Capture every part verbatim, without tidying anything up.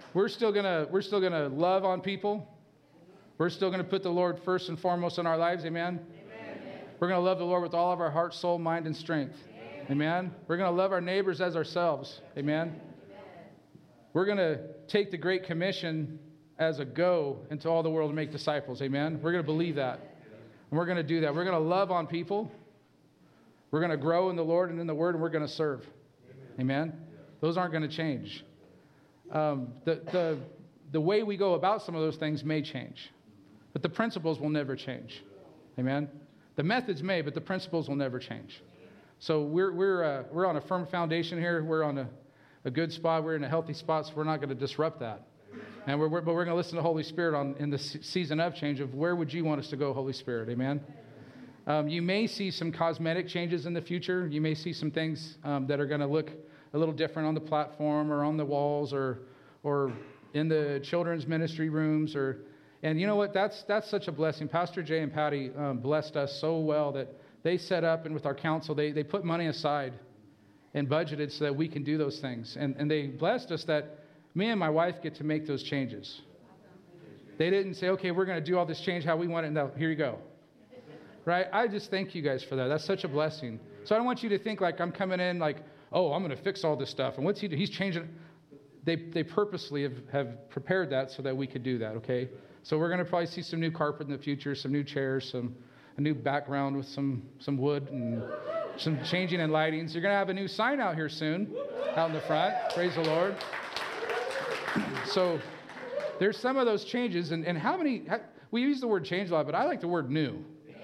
we're still gonna we're still gonna love on people. We're still gonna put the Lord first and foremost in our lives. Amen. Amen. We're gonna love the Lord with all of our heart, soul, mind, and strength. Amen. Amen. We're gonna love our neighbors as ourselves. Amen. Amen. We're gonna take the Great Commission as a go into all the world and make disciples. Amen. We're gonna believe that, and we're gonna do that. We're gonna love on people. We're gonna grow in the Lord and in the Word, and we're gonna serve. Amen. Amen? Those aren't gonna change. Um, the, the, the way we go about some of those things may change, but the principles will never change. Amen. The methods may, but the principles will never change. So we're, we're, uh, we're on a firm foundation here. We're on a, a good spot. We're in a healthy spot, so we're not going to disrupt that. And we're, we're, but we're going to listen to the Holy Spirit on, in the season of change of where would you want us to go, Holy Spirit. Amen. Um, you may see some cosmetic changes in the future. You may see some things um, that are going to look a little different on the platform or on the walls or or in the children's ministry rooms. Or, and you know what? That's that's such a blessing. Pastor Jay and Patty um, blessed us so well that they set up, and with our council, they, they put money aside and budgeted so that we can do those things. And, and they blessed us that me and my wife get to make those changes. They didn't say, okay, we're going to do all this change how we want it. No, here you go. Right? I just thank you guys for that. That's such a blessing. So I don't want you to think like I'm coming in like, oh, I'm going to fix all this stuff. And what's he do? He's changing. They they purposely have, have prepared that so that we could do that, okay? So we're going to probably see some new carpet in the future, some new chairs, some a new background with some, some wood and some changing in lighting. So you're going to have a new sign out here soon, out in the front. Praise the Lord. So there's some of those changes. And, and how many, how, we use the word change a lot, but I like the word new.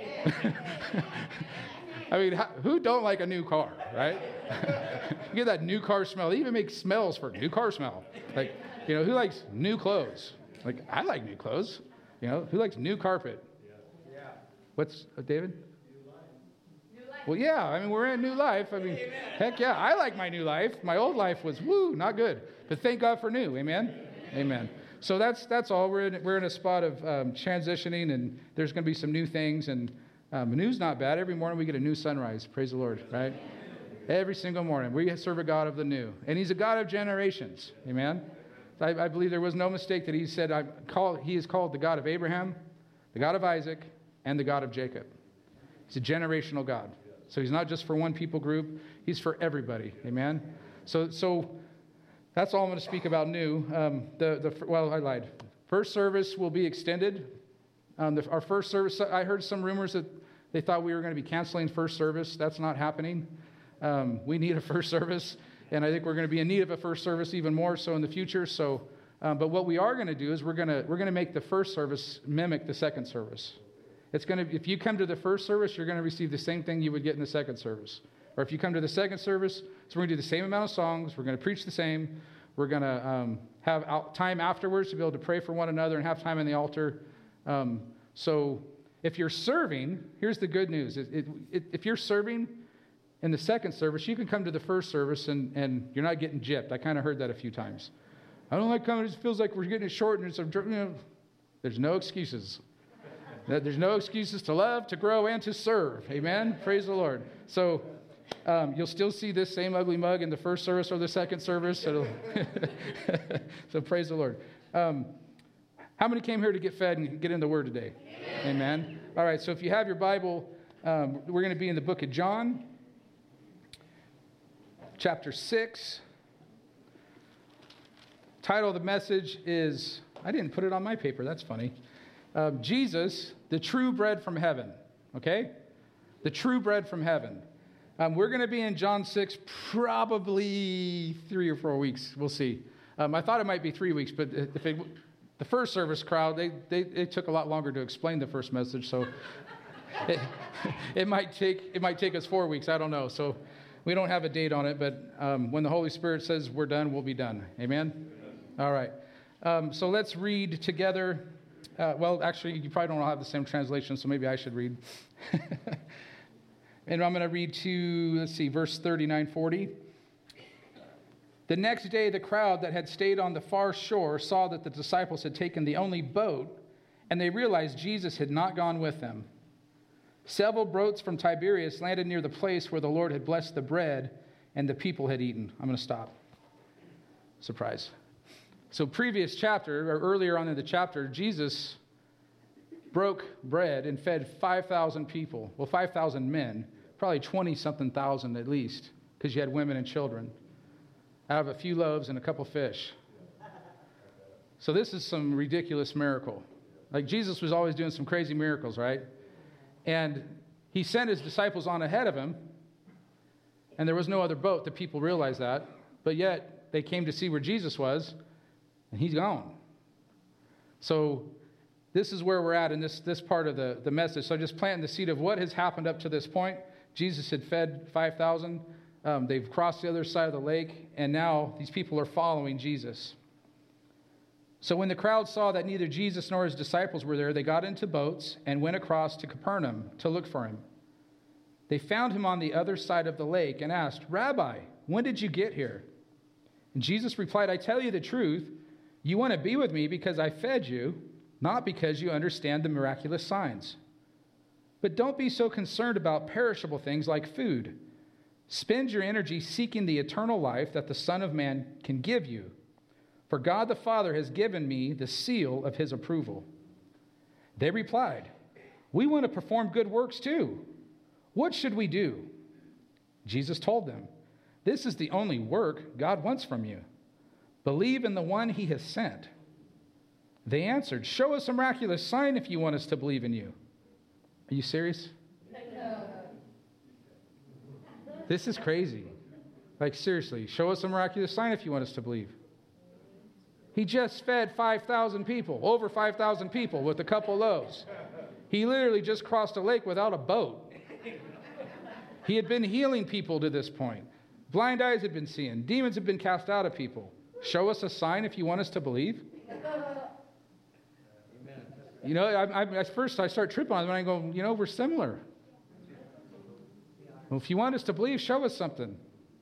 I mean, how, who don't like a new car, right? You get that new car smell. They even make smells for new car smell. Like, you know, who likes new clothes? Like, I like new clothes. You know, who likes new carpet? Yeah. What's, uh, David? New life. New life. Well, yeah, I mean, we're in new life. I mean, amen. Heck yeah, I like my new life. My old life was, woo, not good. But thank God for new, amen? Amen. Amen. So that's that's all. We're in, we're in a spot of um, transitioning, and there's going to be some new things. And um, new's not bad. Every morning we get a new sunrise. Praise the Lord, right? Every single morning. We serve a God of the new. And he's a God of generations. Amen? I, I believe there was no mistake that he said, I call, he is called the God of Abraham, the God of Isaac, and the God of Jacob. He's a generational God. So he's not just for one people group. He's for everybody. Amen? So so that's all I'm going to speak about new. Um, the the Well, I lied. First service will be extended. Um, the, our first service, I heard some rumors that they thought we were going to be canceling first service. That's not happening. Um, we need a first service, and I think we're going to be in need of a first service even more so in the future. So, um, but what we are going to do is we're going to we're going to make the first service mimic the second service. It's going to if you come to the first service, you're going to receive the same thing you would get in the second service. Or if you come to the second service, so we're going to do the same amount of songs. We're going to preach the same. We're going to um, have out time afterwards to be able to pray for one another and have time in the altar. Um, so if you're serving, here's the good news. It, it, it, if you're serving in the second service, you can come to the first service and, and you're not getting gypped. I kind of heard that a few times. I don't like coming. It just feels like we're getting it short. And it's, you know, there's no excuses. There's no excuses to love, to grow, and to serve. Amen? Praise the Lord. So um, you'll still see this same ugly mug in the first service or the second service. So, so praise the Lord. Um, how many came here to get fed and get in the Word today? Amen. Amen. All right, so if you have your Bible, um, we're going to be in the book of John, chapter six. Title of the message is, I didn't put it on my paper. That's funny. Uh, Jesus, the true bread from heaven. Okay? The true bread from heaven. Um, we're going to be in John six probably three or four weeks. We'll see. Um, I thought it might be three weeks, but if it, the first service crowd, they, they it took a lot longer to explain the first message, so it, it might take it might take us four weeks. I don't know. So we don't have a date on it, but um, when the Holy Spirit says we're done, we'll be done. Amen? Amen. All right. Um, so let's read together. Uh, well, actually, you probably don't all have the same translation, so maybe I should read. And I'm going to read to, let's see, verse thirty-nine, forty. The next day, the crowd that had stayed on the far shore saw that the disciples had taken the only boat, and they realized Jesus had not gone with them. Several boats from Tiberias landed near the place where the Lord had blessed the bread and the people had eaten. I'm going to stop. Surprise. So previous chapter, or earlier on in the chapter, Jesus broke bread and fed five thousand people. Well, five thousand men, probably twenty-something thousand at least, because you had women and children, out of a few loaves and a couple fish. So this is some ridiculous miracle. Like Jesus was always doing some crazy miracles, right? And he sent his disciples on ahead of him, and there was no other boat. The people realized that. But yet, they came to see where Jesus was, and he's gone. So this is where we're at in this, this part of the, the message. So just planting the seed of what has happened up to this point. Jesus had fed five thousand. Um, they've crossed the other side of the lake, and now these people are following Jesus. So when the crowd saw that neither Jesus nor his disciples were there, they got into boats and went across to Capernaum to look for him. They found him on the other side of the lake and asked, "Rabbi, when did you get here?" And Jesus replied, "I tell you the truth, you want to be with me because I fed you, not because you understand the miraculous signs. But don't be so concerned about perishable things like food. Spend your energy seeking the eternal life that the Son of Man can give you. For God the Father has given me the seal of his approval." They replied, "We want to perform good works too. What should we do?" Jesus told them, "This is the only work God wants from you. Believe in the one he has sent." They answered, "Show us a miraculous sign if you want us to believe in you." Are you serious? No. This is crazy. Like, seriously, show us a miraculous sign if you want us to believe. He just fed five thousand people, over five thousand people with a couple loaves. He literally just crossed a lake without a boat. He had been healing people to this point. Blind eyes had been seeing. Demons had been cast out of people. Show us a sign if you want us to believe. You know, I, I, at first I start tripping on them and I go, you know, we're similar. Well, if you want us to believe, show us something.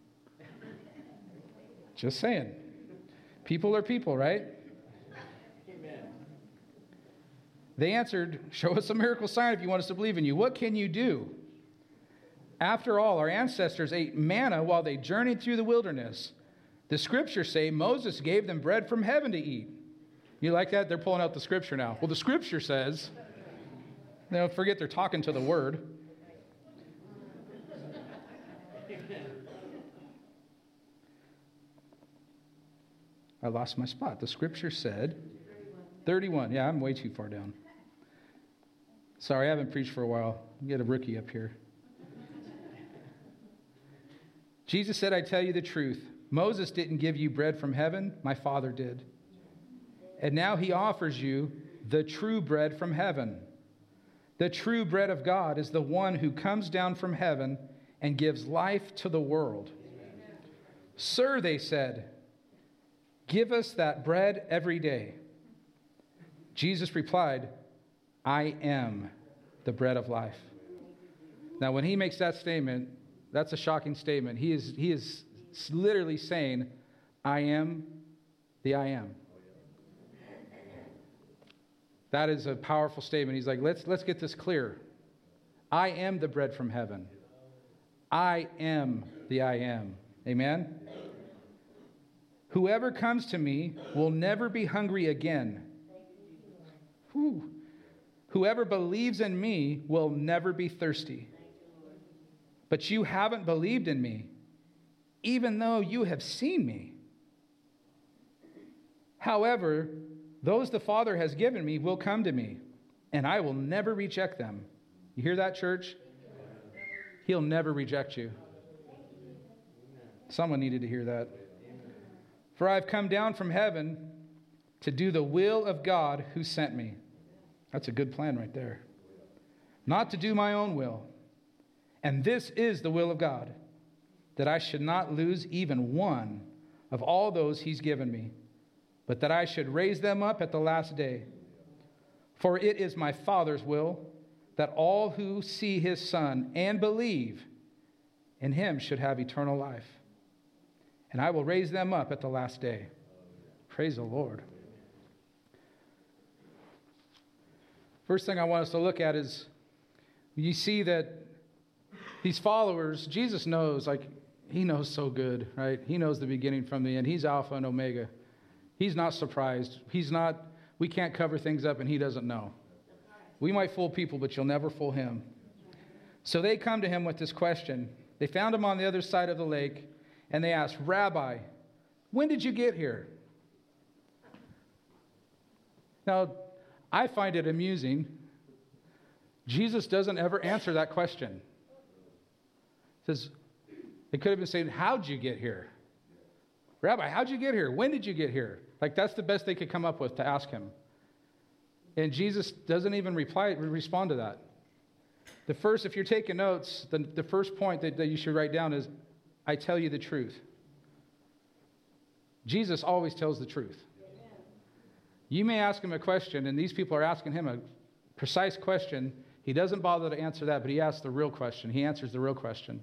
Just saying. People are people, right? Amen. They answered, "Show us a miracle sign if you want us to believe in you. What can you do? After all, our ancestors ate manna while they journeyed through the wilderness. The scriptures say Moses gave them bread from heaven to eat." You like that? They're pulling out the scripture now. Well, the scripture says, they don't forget they're talking to the word. I lost my spot. The scripture said, thirty-one. Yeah, I'm way too far down. Sorry, I haven't preached for a while. Get a rookie up here. Jesus said, "I tell you the truth. Moses didn't give you bread from heaven. My Father did. And now he offers you the true bread from heaven. The true bread of God is the one who comes down from heaven and gives life to the world." "Sir," they said, "give us that bread every day." Jesus replied, "I am the bread of life." Now, when he makes that statement, that's a shocking statement. He is, he is literally saying, "I am the I am." That is a powerful statement. He's like, let's, let's get this clear. I am the bread from heaven. I am the I am. Amen? "Whoever comes to me will never be hungry again. Whew. Whoever believes in me will never be thirsty. But you haven't believed in me, even though you have seen me. However, those the Father has given me will come to me, and I will never reject them." You hear that, church? He'll never reject you. Someone needed to hear that. "For I've come down from heaven to do the will of God who sent me." That's a good plan right there. "Not to do my own will. And this is the will of God, that I should not lose even one of all those he's given me, but that I should raise them up at the last day. For it is my Father's will that all who see his Son and believe in him should have eternal life. And I will raise them up at the last day." Praise the Lord. First thing I want us to look at is you see that these followers, Jesus knows, like, he knows so good, right? He knows the beginning from the end. He's Alpha and Omega. He's not surprised. He's not, we can't cover things up and he doesn't know. We might fool people, but you'll never fool him. So they come to him with this question. They found him on the other side of the lake, and they asked, Rabbi, when did you get here? Now, I find it amusing. Jesus doesn't ever answer that question. He says, they could have been saying, how'd you get here? Rabbi, how'd you get here? When did you get here? Like, that's the best they could come up with to ask him. And Jesus doesn't even reply, respond to that. The first, if you're taking notes, the, the first point that, that you should write down is, I tell you the truth. Jesus always tells the truth. Amen. You may ask him a question, and these people are asking him a precise question. He doesn't bother to answer that, but he asks the real question. He answers the real question.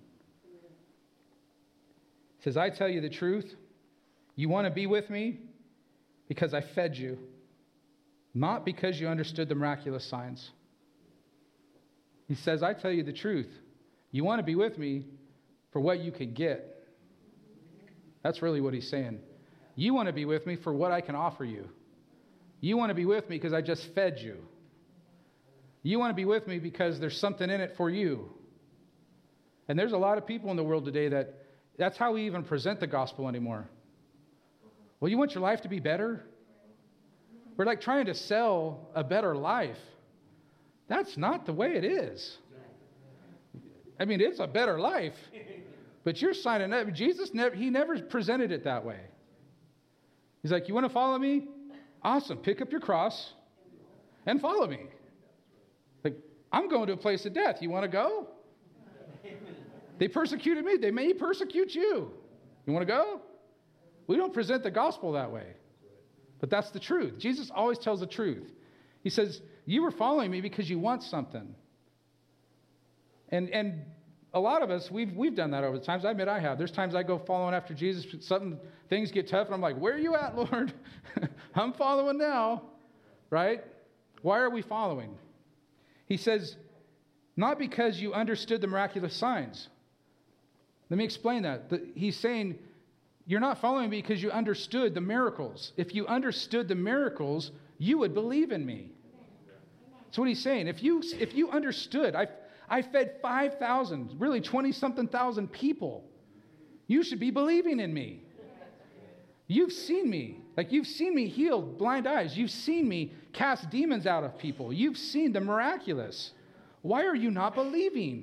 He says, I tell you the truth. You want to be with me because I fed you, not because you understood the miraculous signs. He says, I tell you the truth. You want to be with me for what you can get. That's really what he's saying. You want to be with me for what I can offer you. You want to be with me because I just fed you. You want to be with me because there's something in it for you. And there's a lot of people in the world today that that's how we even present the gospel anymore. Well, you want your life to be better? We're like trying to sell a better life. That's not the way it is. I mean, it's a better life, but you're signing up. Jesus, never, he never presented it that way. He's like, you want to follow me? Awesome. Pick up your cross and follow me. Like, I'm going to a place of death. You want to go? They persecuted me. They may persecute you. You want to go? We don't present the gospel that way, but that's the truth. Jesus always tells the truth. He says, you were following me because you want something. And and a lot of us, we've we've done that over the times. I admit I have. There's times I go following after Jesus. Something, things get tough, and I'm like, where are you at, Lord? I'm following now, right? Why are we following? He says, not because you understood the miraculous signs. Let me explain that. The, he's saying, you're not following me because you understood the miracles. If you understood the miracles, you would believe in me. That's what he's saying. If you if you understood, I I fed five thousand, really twenty-something thousand people. You should be believing in me. You've seen me. Like, you've seen me heal blind eyes. You've seen me cast demons out of people. You've seen the miraculous. Why are you not believing?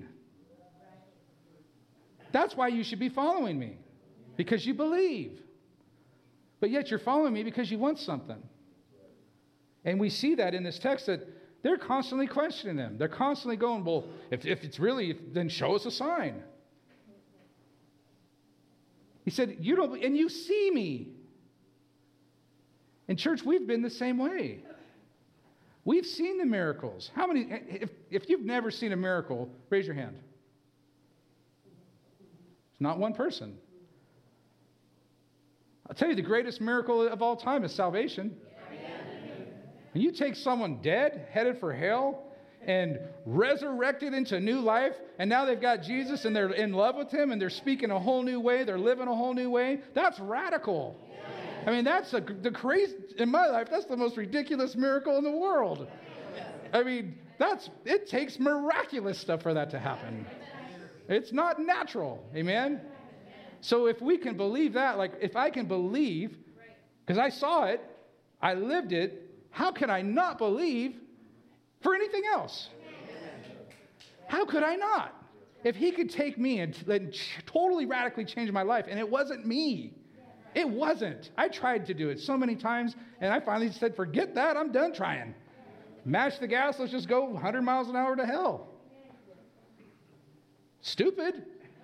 That's why you should be following me. Because you believe. But yet you're following me because you want something. And we see that in this text that they're constantly questioning him. They're constantly going, well, if, if it's really, then show us a sign. He said, you don't, and you see me. In church, we've been the same way. We've seen the miracles. How many, if, if you've never seen a miracle, raise your hand. It's not one person. I'll tell you, the greatest miracle of all time is salvation. When you take someone dead, headed for hell, and resurrected into new life, and now they've got Jesus and they're in love with him and they're speaking a whole new way, they're living a whole new way, that's radical. I mean, that's a, the crazy, in my life, that's the most ridiculous miracle in the world. I mean, that's, it takes miraculous stuff for that to happen. It's not natural, amen? So if we can believe that, like if I can believe, because I saw it, I lived it, how can I not believe for anything else? How could I not? If he could take me and, and totally radically change my life, and it wasn't me. It wasn't. I tried to do it so many times, and I finally said, forget that, I'm done trying. Mash the gas, let's just go one hundred miles an hour to hell. Stupid.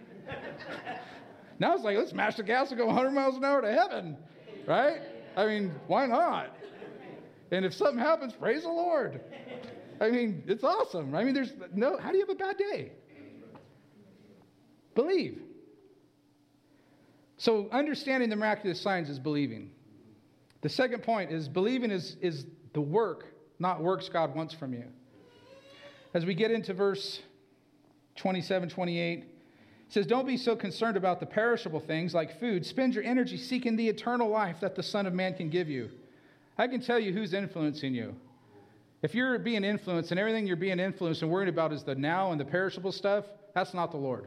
Now it's like, let's mash the gas and go one hundred miles an hour to heaven, right? I mean, why not? And if something happens, praise the Lord. I mean, it's awesome. I mean, there's no, how do you have a bad day? Believe. So understanding the miraculous signs is believing. The second point is believing is, is the work, not works God wants from you. As we get into verse twenty-seven, twenty-eight, it says, don't be so concerned about the perishable things like food. Spend your energy seeking the eternal life that the Son of Man can give you. I can tell you who's influencing you. If you're being influenced and everything you're being influenced and worried about is the now and the perishable stuff, that's not the Lord.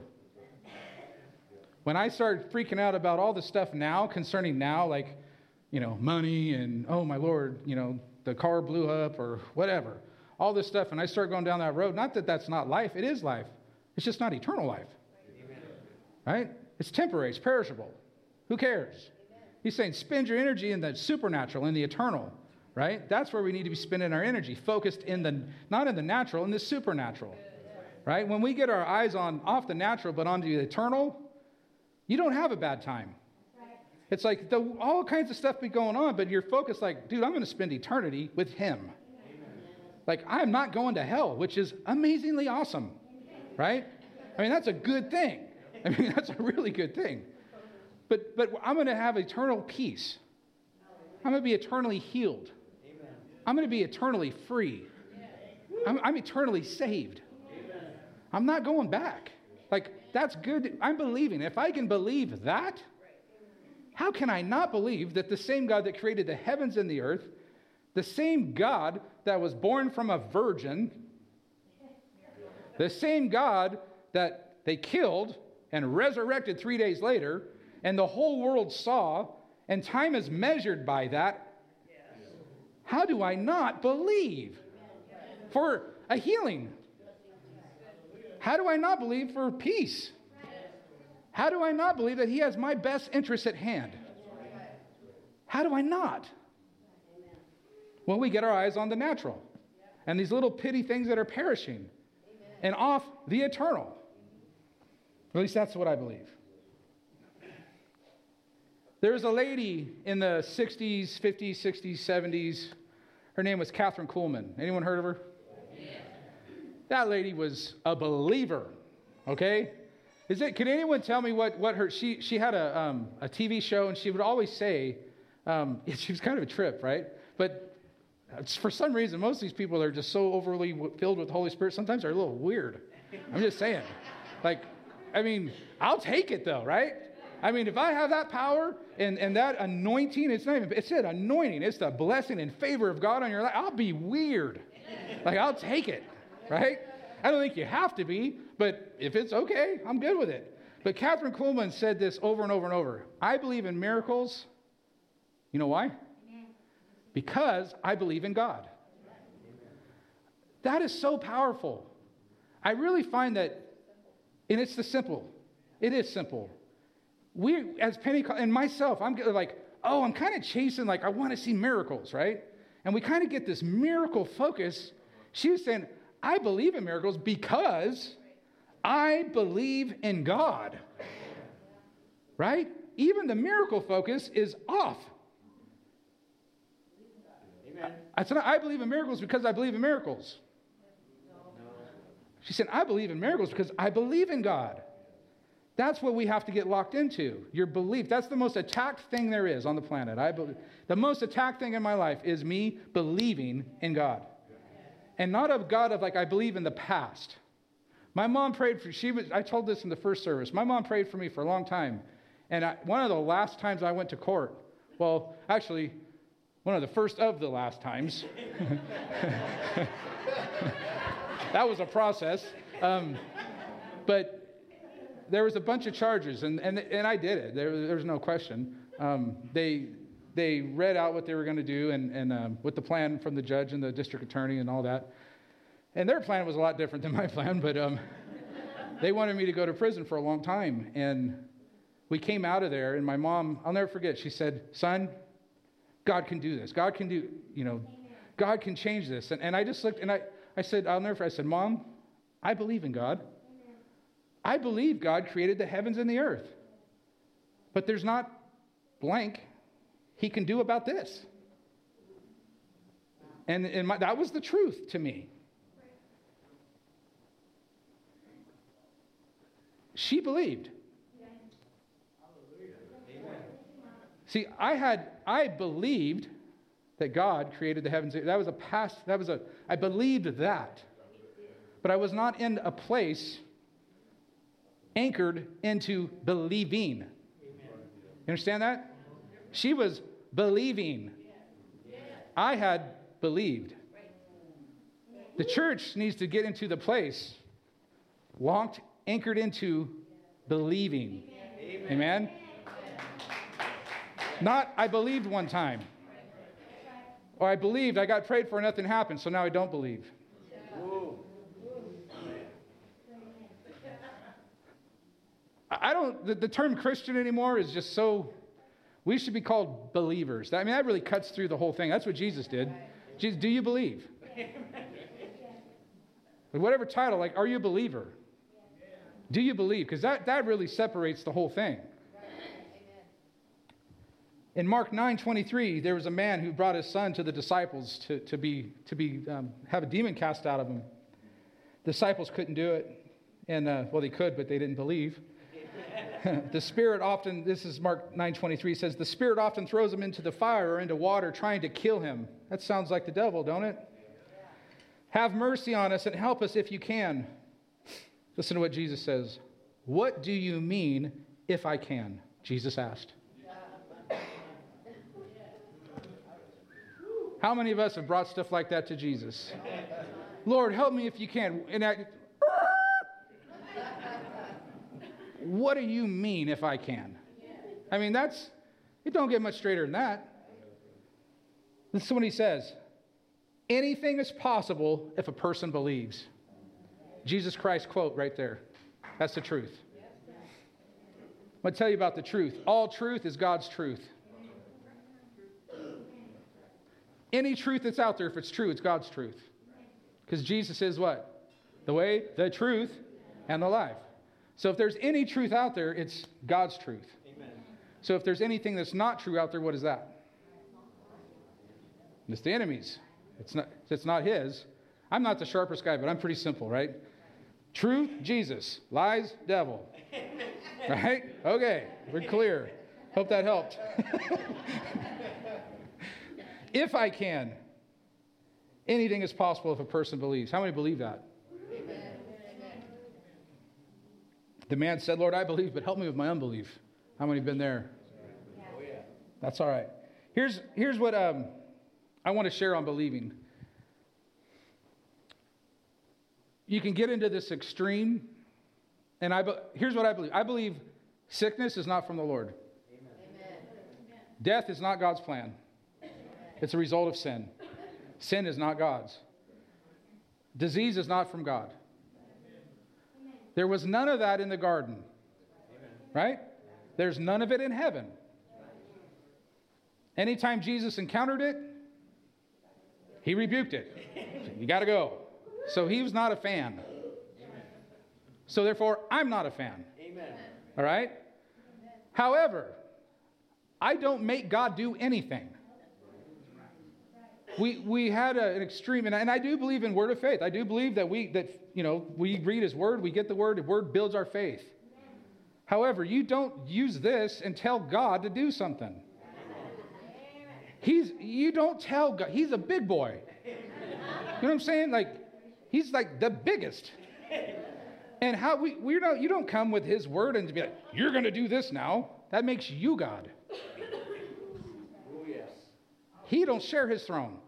When I started freaking out about all the stuff now concerning now, like, you know, money and, oh, my Lord, you know, the car blew up or whatever, all this stuff, and I started going down that road, not that that's not life, it is life. It's just not eternal life. Amen. Right? It's temporary, it's perishable. Who cares? Amen. He's saying spend your energy in the supernatural, in the eternal, right? That's where we need to be spending our energy, focused in the, not in the natural, in the supernatural, right? When we get our eyes on off the natural but onto the eternal, you don't have a bad time. It's like the, all kinds of stuff be going on, but you're focused like, dude, I'm going to spend eternity with him. Amen. Like, I'm not going to hell, which is amazingly awesome, right? I mean, that's a good thing. I mean, that's a really good thing. But but I'm going to have eternal peace. I'm going to be eternally healed. I'm going to be eternally free. I'm, I'm eternally saved. I'm not going back. Like, that's good. I'm believing. If I can believe that, how can I not believe that the same God that created the heavens and the earth, the same God that was born from a virgin, the same God that they killed and resurrected three days later, and the whole world saw, and time is measured by that, how do I not believe for a healing? How do I not believe for peace? How do I not believe that he has my best interests at hand? How do I not? Well, we get our eyes on the natural and these little pitty things that are perishing and off the eternal. At least that's what I believe. There was a lady in the sixties, fifties, sixties, seventies. Her name was Catherine Kuhlman. Anyone heard of her? That lady was a believer, okay? Is it? Can anyone tell me what, what her, she, she had a, um, a T V show, and she would always say, um, she was kind of a trip, right? But for some reason, most of these people are just so overly filled with the Holy Spirit, sometimes they're a little weird. I'm just saying. Like, I mean, I'll take it though, right? I mean, if I have that power and, and that anointing, it's not even, it's an anointing, it's the blessing and favor of God on your life, I'll be weird. Like, I'll take it, right? I don't think you have to be, but if it's okay, I'm good with it. But Catherine Kuhlman said this over and over and over. I believe in miracles. You know why? Because I believe in God. That is so powerful. I really find that, and it's the simple. It is simple. We, as Pentecost, and myself, I'm like, oh, I'm kind of chasing, like, I want to see miracles, right? And we kind of get this miracle focus. She was saying, I believe in miracles because I believe in God, right? Even the miracle focus is off. Amen. I said, I believe in miracles because I believe in miracles. She said, I believe in miracles because I believe in God. That's what we have to get locked into, your belief. That's the most attacked thing there is on the planet. I believe. The most attacked thing in my life is me believing in God. And not of God of like, I believe in the past. My mom prayed for, she was, I told this in the first service. My mom prayed for me for a long time. And I, one of the last times I went to court, well, actually, one of the first of the last times. That was a process. Um, but there was a bunch of charges, and, and, and I did it. There, there was no question. Um, they... They read out what they were going to do and, and um, with the plan from the judge and the district attorney and all that. And their plan was a lot different than my plan, but um, they wanted me to go to prison for a long time. And we came out of there, and my mom, I'll never forget, she said, son, God can do this. God can do, you know, God can change this. And, and I just looked, and I, I said, I'll never forget, I said, Mom, I believe in God. I believe God created the heavens and the earth. But there's not blank he can do about this. And, and my, that was the truth to me. She believed. See, I had, I believed that God created the heavens. That was a past, that was a, I believed that. But I was not in a place anchored into believing. You understand that? She was believing. I had believed. The church needs to get into the place locked, anchored into believing. Amen. Amen? Not, I believed one time. Or I believed, I got prayed for, nothing happened, so now I don't believe. I don't, the, the term Christian anymore is just so, we should be called believers. I mean, that really cuts through the whole thing. That's what Jesus did. Jesus, do you believe? But whatever title, like, are you a believer? Do you believe? Because that, that really separates the whole thing. In Mark nine twenty-three, there was a man who brought his son to the disciples to, to be to be um, have a demon cast out of him. The disciples couldn't do it, and uh, well, they could, but they didn't believe. The spirit often, this is Mark nine twenty-three, says the spirit often throws him into the fire or into water, trying to kill him. That sounds like the devil, don't it? Have mercy on us and help us if you can. Listen to what Jesus says. What do you mean, if I can? Jesus asked. How many of us have brought stuff like that to Jesus? Lord, help me if you can. And I, what do you mean if I can? I mean, that's, it don't get much straighter than that. This is what he says. Anything is possible if a person believes. Jesus Christ quote right there. That's the truth. I'm going to tell you about the truth. All truth is God's truth. Any truth that's out there, if it's true, it's God's truth. Because Jesus is what? The way, the truth, and the life. So if there's any truth out there, it's God's truth. Amen. So if there's anything that's not true out there, what is that? It's the enemy's. It's not, it's not his. I'm not the sharpest guy, but I'm pretty simple, right? Truth, Jesus. Lies, devil. Right? Okay, we're clear. Hope that helped. If I can, anything is possible if a person believes. How many believe that? Amen. The man said, Lord, I believe, but help me with my unbelief. How many have been there? Oh, yeah. That's all right. Here's, here's what um, I want to share on believing. You can get into this extreme, and I be- here's what I believe. I believe sickness is not from the Lord. Amen. Death is not God's plan. It's a result of sin. Sin is not God's. Disease is not from God. There was none of that in the garden. Right? There's none of it in heaven. Anytime Jesus encountered it, he rebuked it. You got to go. So he was not a fan. So therefore, I'm not a fan. All right? However, I don't make God do anything. We we had a, an extreme, and I, and I do believe in word of faith. I do believe that we that you know we read His word, we get the word. The word builds our faith. However, you don't use this and tell God to do something. He's you don't tell God. He's a big boy. You know what I'm saying? Like he's like the biggest. And how we we don't you don't come with His word and be like, you're going to do this now. That makes you God. He don't share His throne.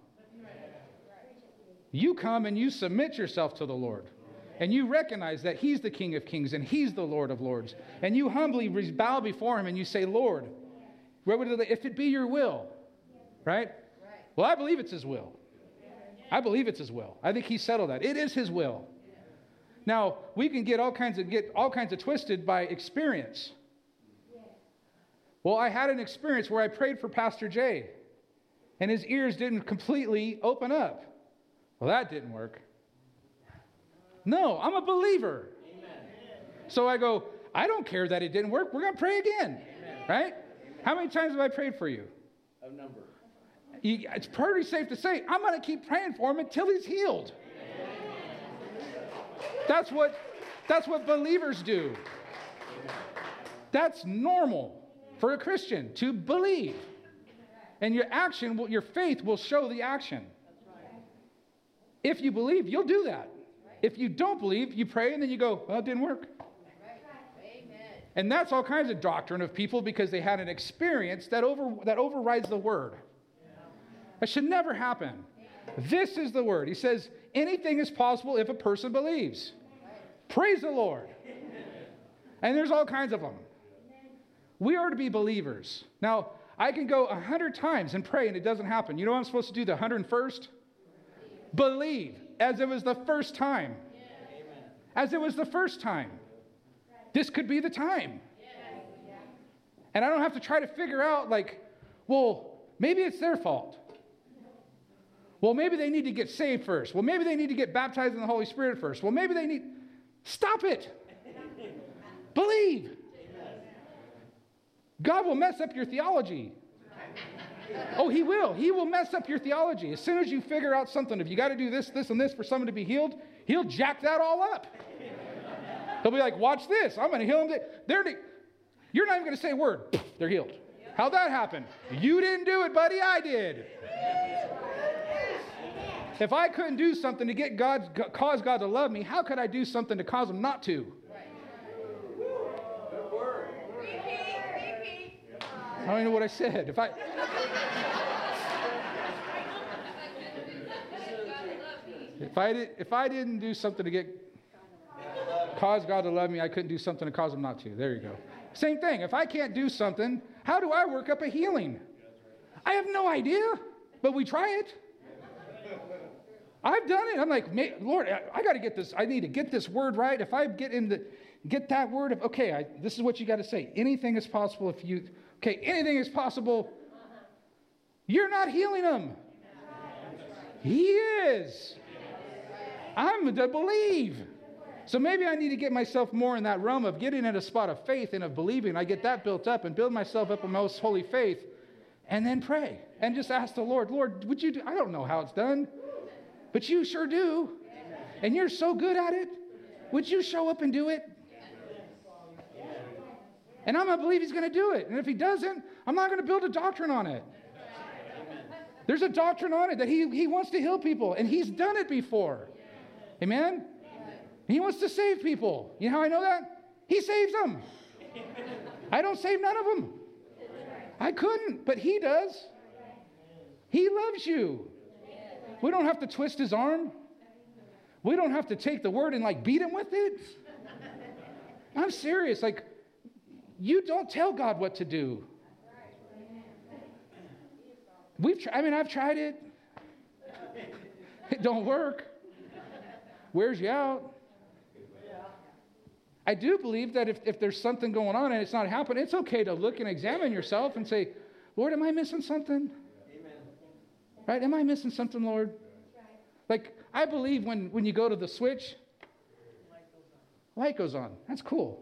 You come and you submit yourself to the Lord. And you recognize that He's the King of Kings and He's the Lord of Lords. And you humbly bow before Him and you say, Lord, if it be your will, right? Well, I believe it's His will. I believe it's His will. I think He settled that. It is His will. Now, we can get all kinds of get all kinds of twisted by experience. Well, I had an experience where I prayed for Pastor Jay. And his ears didn't completely open up. Well, that didn't work. No, I'm a believer. Amen. So I go, I don't care that it didn't work. We're going to pray again. Amen. Right? How many times have I prayed for you? A number. You, it's pretty safe to say, I'm going to keep praying for him until he's healed. Amen. That's what, that's what believers do. Amen. That's normal for a Christian to believe. And your action, will, your faith will show the action. If you believe, you'll do that. If you don't believe, you pray and then you go, well, it didn't work. And that's all kinds of doctrine of people because they had an experience that over that overrides the word. That should never happen. This is the word. He says, anything is possible if a person believes. Praise the Lord. And there's all kinds of them. We are to be believers. Now, I can go a hundred times and pray and it doesn't happen. You know what I'm supposed to do the hundred and first? Believe as it was the first time. As it was the first time. This could be the time. And I don't have to try to figure out like, well, maybe it's their fault. Well, maybe they need to get saved first. Well, maybe they need to get baptized in the Holy Spirit first. Well, maybe they need... Stop it. Believe. God will mess up your theology. Oh, he will. He will mess up your theology. As soon as you figure out something, if you got to do this, this, and this for someone to be healed, he'll jack that all up. He'll be like, watch this. I'm going to heal them. They're, you're not even going to say a word. They're healed. How'd that happen? You didn't do it, buddy. I did. If I couldn't do something to get God, cause God to love me, how could I do something to cause him not to? I don't even know what I said. If I, if I did, if I didn't do something to get cause God to love me, I couldn't do something to cause him not to. There you go. Same thing. If I can't do something, how do I work up a healing? I have no idea, but we try it. I've done it. I'm like, Lord, I, I got to get this. I need to get this word right. If I get in the, get that word of, okay, I, this is what you got to say. Anything is possible if you, okay, anything is possible. You're not healing them. He is. I'm to believe. So maybe I need to get myself more in that realm of getting in a spot of faith and of believing. I get that built up and build myself up in most holy faith and then pray and just ask the Lord, Lord, would you do, I don't know how it's done. But you sure do. And you're so good at it. Would you show up and do it? And I'm going to believe he's going to do it. And if he doesn't, I'm not going to build a doctrine on it. There's a doctrine on it that he, he wants to heal people. And he's done it before. Amen? He wants to save people. You know how I know that? He saves them. I don't save none of them. I couldn't, but he does. He loves you. We don't have to twist his arm. We don't have to take the word and like beat him with it. I'm serious. Like, you don't tell God what to do. We've tried, I mean, I've tried it. It don't work. Wears you out. I do believe that if, if there's something going on and it's not happening, it's okay to look and examine yourself and say, Lord, am I missing something? Right? Am I missing something, Lord? Like, I believe when, when you go to the switch, light goes on. That's cool.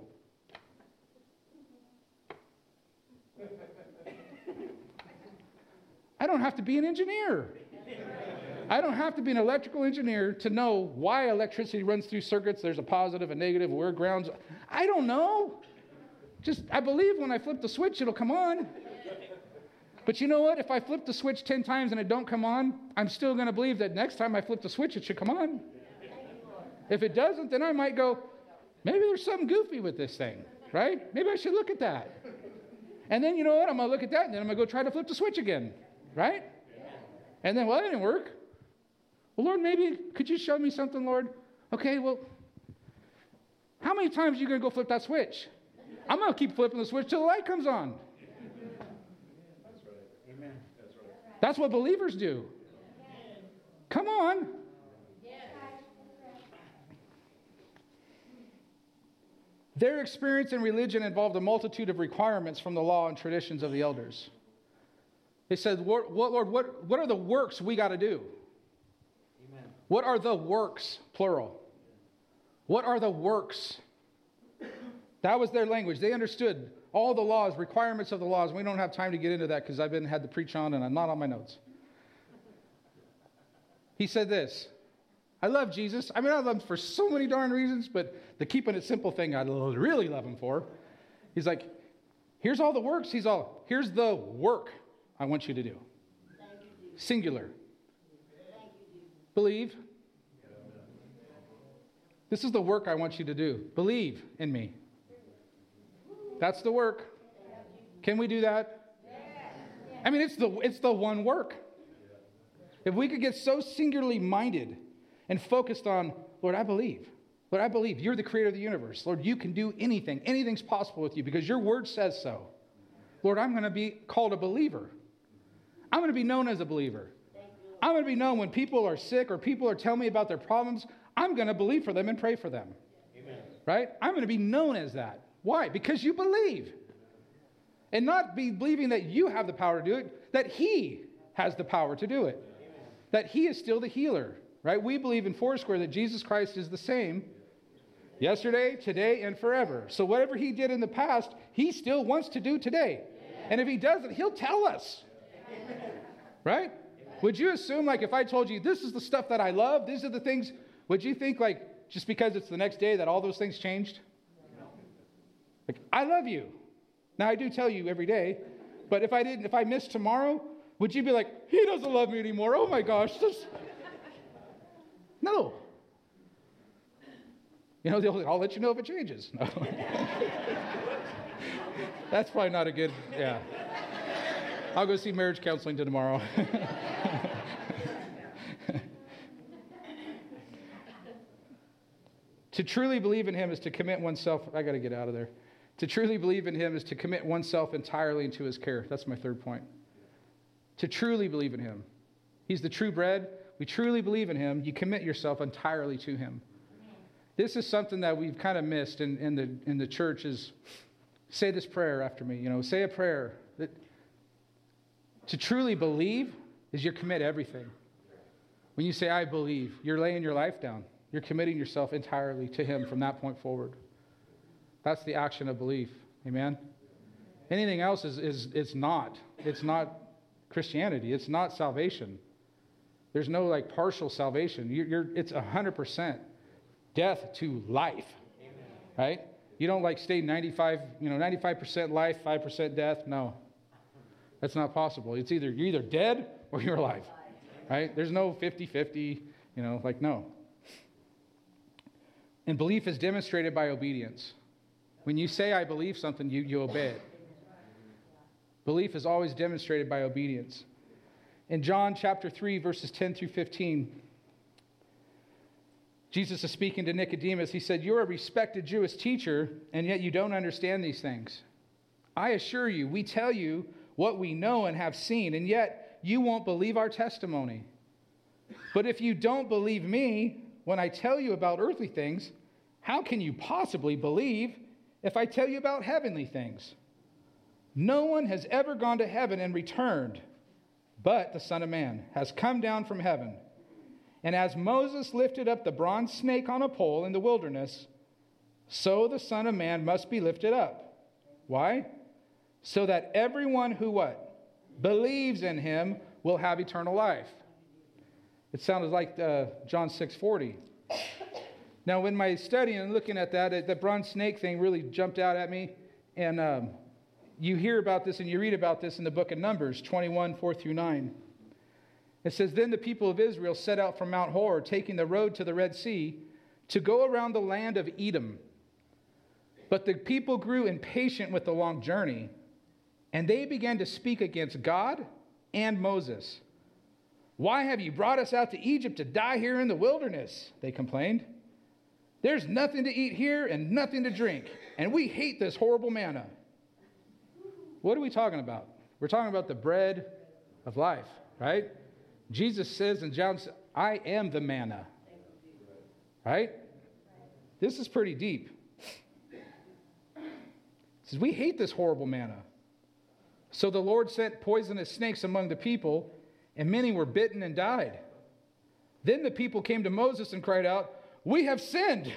I don't have to be an engineer. I don't have to be an electrical engineer to know why electricity runs through circuits. There's a positive, a negative, where grounds. I don't know. Just, I believe when I flip the switch, it'll come on. But you know what? If I flip the switch ten times and it don't come on, I'm still going to believe that next time I flip the switch, it should come on. If it doesn't, then I might go, maybe there's something goofy with this thing, right? Maybe I should look at that. And then you know what? I'm going to look at that, and then I'm going to go try to flip the switch again, right? And then, well, that didn't work. Well, Lord, maybe, could you show me something, Lord? Okay, well, how many times are you going to go flip that switch? I'm going to keep flipping the switch till the light comes on. That's what believers do. Come on. Their experience in religion involved a multitude of requirements from the law and traditions of the elders. They said, what, Lord, what, what are the works we got to do? Amen. What are the works, plural? What are the works? That was their language. They understood all the laws, requirements of the laws. We don't have time to get into that because I've been had to preach on and I'm not on my notes. He said this. I love Jesus. I mean, I love him for so many darn reasons, but the keeping it simple thing I really love him for. He's like, here's all the works. He's all, here's the work I want you to do. Singular. Believe. This is the work I want you to do. Believe in me. That's the work. Can we do that? I mean, it's the it's the one work. If we could get so singularly minded and focused on, Lord, I believe. Lord, I believe you're the creator of the universe. Lord, you can do anything. Anything's possible with you because your word says so. Lord, I'm going to be called a believer. I'm going to be known as a believer. I'm going to be known when people are sick or people are telling me about their problems. I'm going to believe for them and pray for them. Amen. Right? I'm going to be known as that. Why? Because you believe. And not be believing that you have the power to do it, that he has the power to do it. Amen. That he is still the healer. Right? We believe in Foursquare that Jesus Christ is the same yesterday, today, and forever. So whatever he did in the past, he still wants to do today. Amen. And if he doesn't, he'll tell us. Amen. Right? Would you assume, like, if I told you, this is the stuff that I love, these are the things, would you think, like, just because it's the next day that all those things changed? Like, I love you. Now, I do tell you every day, but if I didn't, if I missed tomorrow, would you be like, he doesn't love me anymore? Oh, my gosh. This... No. You know, they'll, I'll let you know if it changes. No. That's probably not a good, yeah. I'll go see marriage counseling tomorrow. To truly believe in him is to commit oneself. I got to get out of there. To truly believe in him is to commit oneself entirely into his care. That's my third point. To truly believe in him. He's the true bread. We truly believe in him. You commit yourself entirely to him. This is something that we've kind of missed in, in the in the church is say this prayer after me. You know, say a prayer. That, to truly believe is you commit everything. When you say, I believe, you're laying your life down. You're committing yourself entirely to him from that point forward. That's the action of belief. Amen? Anything else is, is it's not. It's not Christianity. It's not salvation. There's no like partial salvation. You're, you're, it's one hundred percent death to life. Amen. Right? You don't like stay ninety-five, you know, ninety-five percent life, five percent death. No. That's not possible. It's either you're either dead or you're alive. Right? There's no fifty-fifty, you know, like no. And belief is demonstrated by obedience. When you say I believe something, you, you obey it. Belief is always demonstrated by obedience. In John chapter three, verses ten through fifteen, Jesus is speaking to Nicodemus. He said, you're a respected Jewish teacher, and yet you don't understand these things. I assure you, we tell you what we know and have seen, and yet you won't believe our testimony. But if you don't believe me when I tell you about earthly things, how can you possibly believe if I tell you about heavenly things? No one has ever gone to heaven and returned, but the Son of Man has come down from heaven. And as Moses lifted up the bronze snake on a pole in the wilderness, so the Son of Man must be lifted up. Why? So that everyone who what? Believes in him will have eternal life. It sounded like uh, John six forty. Now, in my study and looking at that, the bronze snake thing really jumped out at me. And um, you hear about this and you read about this in the book of Numbers twenty-one, four through nine. It says, then the people of Israel set out from Mount Hor, taking the road to the Red Sea, to go around the land of Edom. But the people grew impatient with the long journey, and they began to speak against God and Moses. Why have you brought us out to Egypt to die here in the wilderness? They complained. There's nothing to eat here and nothing to drink, and we hate this horrible manna. What are we talking about? We're talking about the bread of life, right? Jesus says in John, I am the manna. Right? This is pretty deep. He says, we hate this horrible manna. So the Lord sent poisonous snakes among the people, and many were bitten and died. Then the people came to Moses and cried out, we have sinned.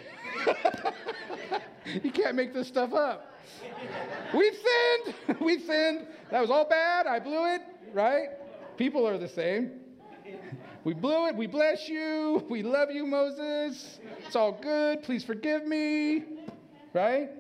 You can't make this stuff up. We've sinned. We've sinned. That was all bad. I blew it. Right? People are the same. We blew it. We bless you. We love you, Moses. It's all good. Please forgive me. Right?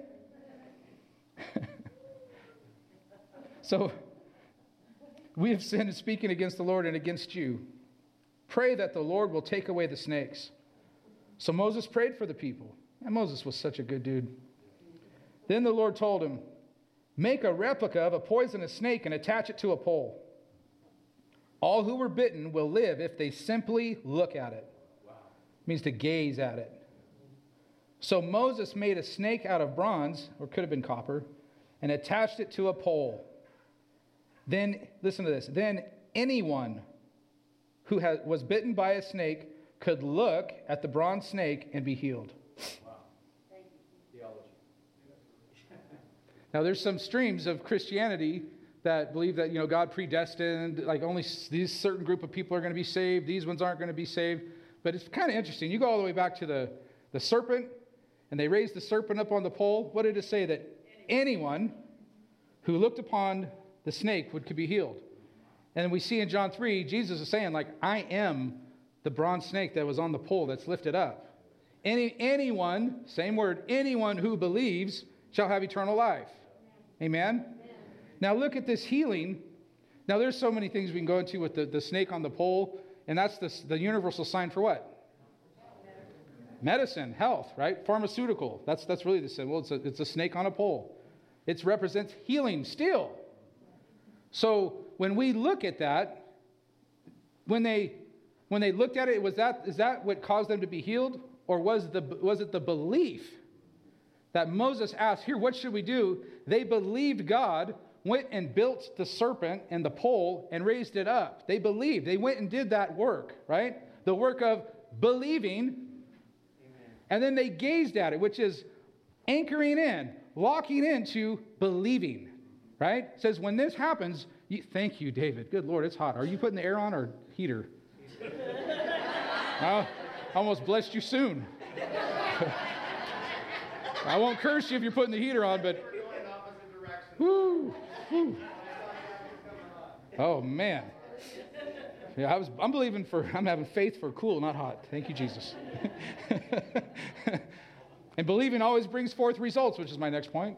So, we have sinned in speaking against the Lord and against you. Pray that the Lord will take away the snakes. So Moses prayed for the people. And Moses was such a good dude. Then the Lord told him, make a replica of a poisonous snake and attach it to a pole. All who were bitten will live if they simply look at it. Wow. It means to gaze at it. So Moses made a snake out of bronze, or could have been copper, and attached it to a pole. Then, listen to this, then anyone who has, was bitten by a snake could look at the bronze snake and be healed. Wow. Thank you. Theology. Now, there's some streams of Christianity that believe that, you know, God predestined, like only these certain group of people are going to be saved, these ones aren't going to be saved. But it's kind of interesting. You go all the way back to the, the serpent, and they raised the serpent up on the pole. What did it say? That anyone who looked upon the snake would could be healed. And we see in John three, Jesus is saying, like, I am the bronze snake that was on the pole that's lifted up. Any anyone, same word, anyone who believes shall have eternal life. Amen? Amen. Now look at this healing. Now there's so many things we can go into with the, the snake on the pole, and that's the, the universal sign for what? Medicine, health, right? Pharmaceutical. That's that's really the symbol. It's a, it's a snake on a pole. It represents healing still. So when we look at that, when they when they looked at it, was that is that what caused them to be healed? Or was the was it the belief that Moses asked, here, what should we do? They believed God, went and built the serpent and the pole and raised it up. They believed. They went and did that work, right? The work of believing. And then they gazed at it, which is anchoring in, locking into believing, right? It says when this happens, you, thank you, David. Good Lord, it's hot. Are you putting the air on or heater? I almost blessed you soon. I won't curse you if you're putting the heater on, but woo, woo. Oh man. Yeah, I was, I'm believing for, I'm having faith for cool, not hot. Thank you, Jesus. And believing always brings forth results, which is my next point.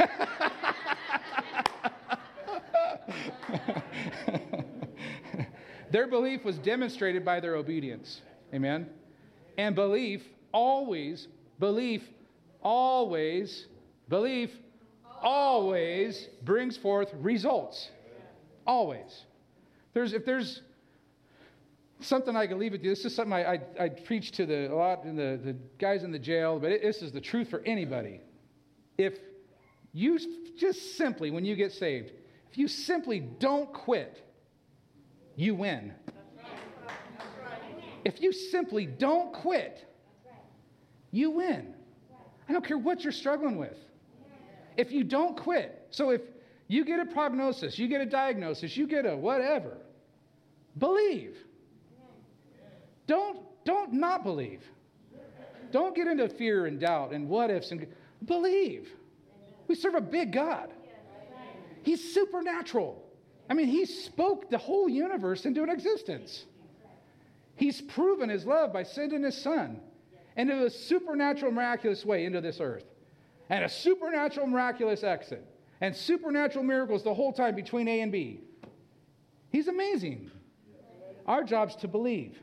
Their belief was demonstrated by their obedience. Amen. And belief always, belief always, belief always brings forth results. Always. There's, if there's something I can leave with you. This is something I, I, I preach to the, a lot in the, the guys in the jail, but it, this is the truth for anybody. If you just simply, when you get saved, if you simply don't quit, you win. If you simply don't quit, you win. I don't care what you're struggling with. If you don't quit. So if you get a prognosis, you get a diagnosis, you get a whatever, believe. Don't, don't not believe. Don't get into fear and doubt and what ifs and believe. We serve a big God. He's supernatural. I mean, he spoke the whole universe into an existence. He's proven his love by sending his son into a supernatural, miraculous way into this earth. And a supernatural, miraculous exit. And supernatural miracles the whole time between A and B. He's amazing. Our job's to believe.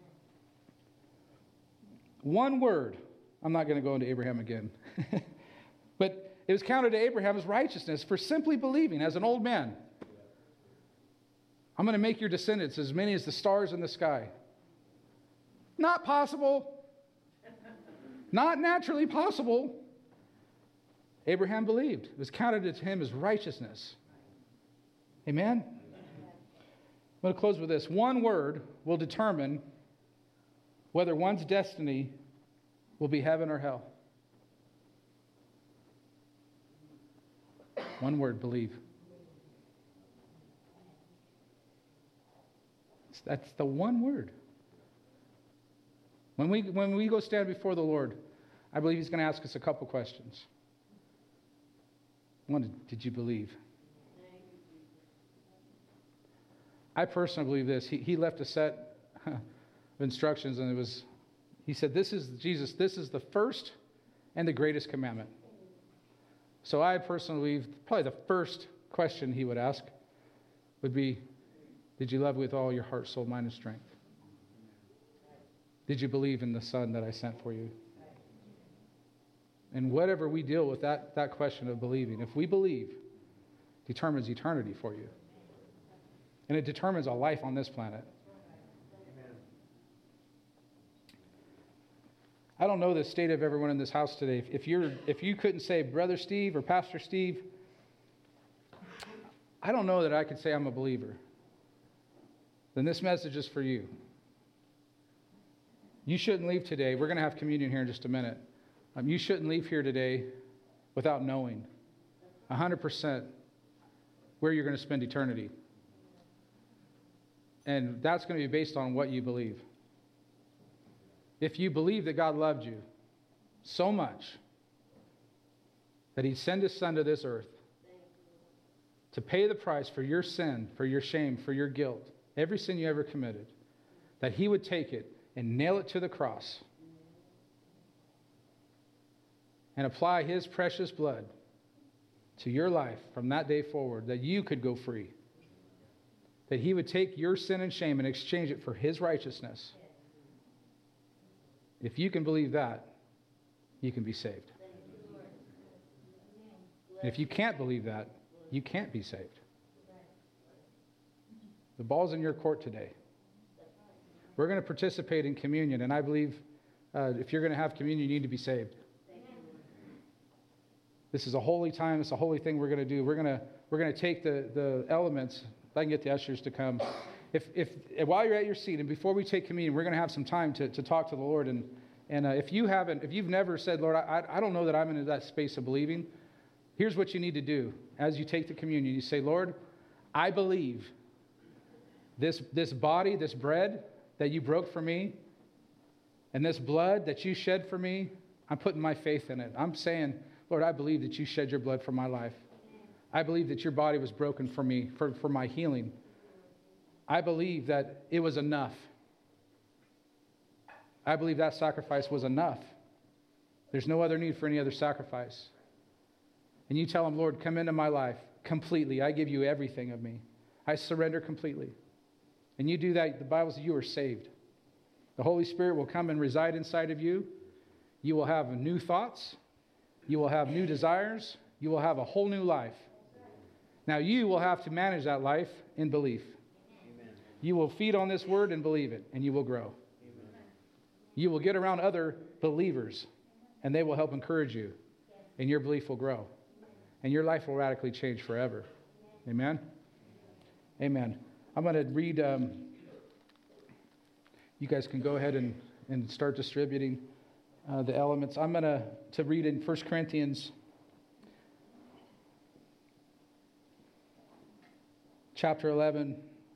One word. I'm not going to go into Abraham again. But it was counted to Abraham as righteousness for simply believing as an old man. I'm going to make your descendants as many as the stars in the sky. Not possible. Not naturally possible. Abraham believed. It was counted to him as righteousness. Amen? I'm going to close with this. One word will determine whether one's destiny will be heaven or hell. One word, believe. That's the one word. When we, when we go stand before the Lord, I believe he's going to ask us a couple questions. One, did you believe? I personally believe this. He, he left a set of instructions, and it was, he said, this is, Jesus, this is the first and the greatest commandment. So I personally believe probably the first question he would ask would be, did you love with all your heart, soul, mind, and strength? Did you believe in the Son that I sent for you? And whatever we deal with that, that question of believing, if we believe, determines eternity for you. And it determines a life on this planet. I don't know the state of everyone in this house today. If you're, if you couldn't say Brother Steve or Pastor Steve, I don't know that I could say I'm a believer. Then this message is for you. You shouldn't leave today. We're going to have communion here in just a minute. Um, you shouldn't leave here today without knowing one hundred percent where you're going to spend eternity. And that's going to be based on what you believe. If you believe that God loved you so much that He'd send His Son to this earth to pay the price for your sin, for your shame, for your guilt, every sin you ever committed, that He would take it and nail it to the cross and apply His precious blood to your life from that day forward, that you could go free, that He would take your sin and shame and exchange it for His righteousness. If you can believe that, you can be saved. And if you can't believe that, you can't be saved. The ball's in your court today. We're going to participate in communion, and I believe uh, if you're going to have communion, you need to be saved. This is a holy time. It's a holy thing we're going to do. We're going to we're going to take the, the elements. If I can get the ushers to come. If, if while you're at your seat and before we take communion, we're going to have some time to, to talk to the Lord. And, and uh, if you haven't, if you've never said, Lord, I, I don't know that I'm in that space of believing, here's what you need to do. As you take the communion, you say, Lord, I believe this, this body, this bread that you broke for me, and this blood that you shed for me, I'm putting my faith in it. I'm saying, Lord, I believe that you shed your blood for my life. I believe that your body was broken for me, for, for my healing. I believe that it was enough. I believe that sacrifice was enough. There's no other need for any other sacrifice. And you tell Him, Lord, come into my life completely. I give you everything of me. I surrender completely. And you do that, the Bible says you are saved. The Holy Spirit will come and reside inside of you. You will have new thoughts. You will have new desires. You will have a whole new life. Now you will have to manage that life in belief. You will feed on this word and believe it, and you will grow. Amen. You will get around other believers, and they will help encourage you, and your belief will grow, and your life will radically change forever. Amen? Amen. I'm going to read, um, you guys can go ahead and, and start distributing uh, the elements. I'm going to to read in First Corinthians chapter eleven.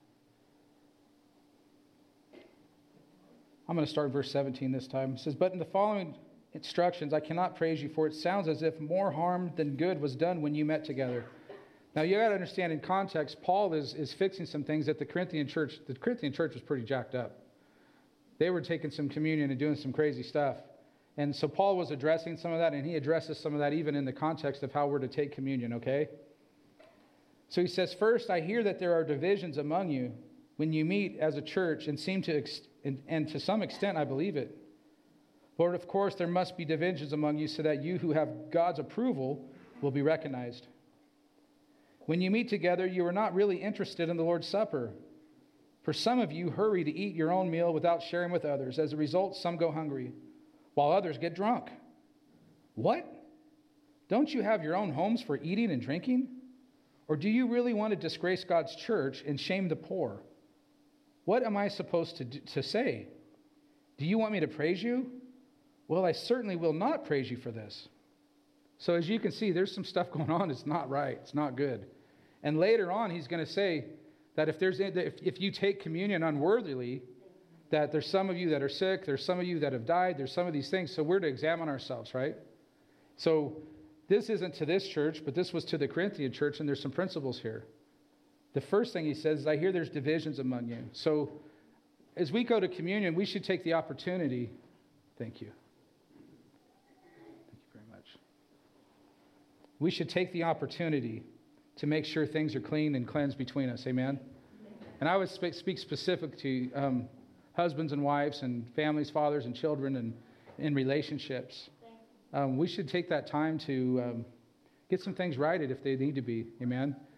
I'm going to start verse seventeen this time. It says, but in the following instructions, I cannot praise you, for it sounds as if more harm than good was done when you met together. Now, you got to understand, in context, Paul is, is fixing some things that the Corinthian church, the Corinthian church was pretty jacked up. They were taking some communion and doing some crazy stuff. And so Paul was addressing some of that, and he addresses some of that even in the context of how we're to take communion, okay? So he says, first, I hear that there are divisions among you when you meet as a church and seem to, ex- and, and to some extent, I believe it. Lord, of course, there must be divisions among you so that you who have God's approval will be recognized. When you meet together, you are not really interested in the Lord's Supper. For some of you hurry to eat your own meal without sharing with others. As a result, some go hungry, while others get drunk. What? Don't you have your own homes for eating and drinking? Or do you really want to disgrace God's church and shame the poor? What am I supposed to do, to say? Do you want me to praise you? Well, I certainly will not praise you for this. So as you can see, there's some stuff going on. It's not right. It's not good. And later on, he's going to say that if there's if, if you take communion unworthily, that there's some of you that are sick, there's some of you that have died, there's some of these things. So we're to examine ourselves, right? So this isn't to this church, but this was to the Corinthian church, and there's some principles here. The first thing he says is, I hear there's divisions among you. So as we go to communion, we should take the opportunity. Thank you. Thank you very much. We should take the opportunity to make sure things are clean and cleansed between us. Amen? And I would speak, speak specific to um, husbands and wives and families, fathers and children, and in relationships. Um, we should take that time to um, get some things righted if they need to be. Amen?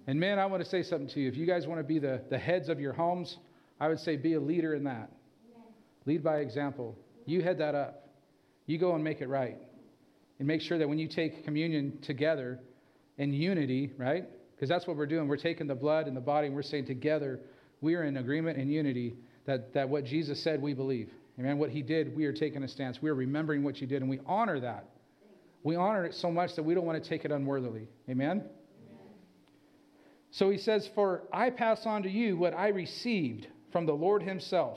And men, I want to say something to you. If you guys want to be the, the heads of your homes, I would say be a leader in that. Amen. Lead by example. You head that up. You go and make it right. And make sure that when you take communion together in unity, right? Because that's what we're doing. We're taking the blood and the body and we're saying together, we are in agreement and unity that, that what Jesus said we believe. Amen. What he did, we are taking a stance. We are remembering what you did and we honor that. We honor it so much that we don't want to take it unworthily. Amen. So he says, for I pass on to you what I received from the Lord himself.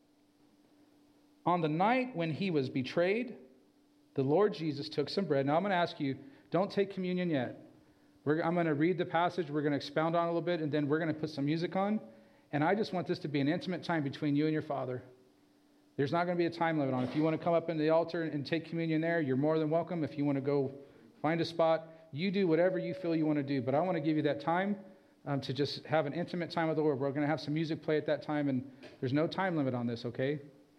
On the night when he was betrayed, the Lord Jesus took some bread. Now I'm going to ask you, don't take communion yet. We're, I'm going to read the passage. We're going to expound on it a little bit, and then we're going to put some music on. And I just want this to be an intimate time between you and your Father. There's not going to be a time limit on it. If you want to come up in the altar and take communion there, you're more than welcome. If you want to go find a spot, you do whatever you feel you want to do. But I want to give you that time Um, to just have an intimate time with the Lord. We're going to have some music play at that time, and there's no time limit on this, okay?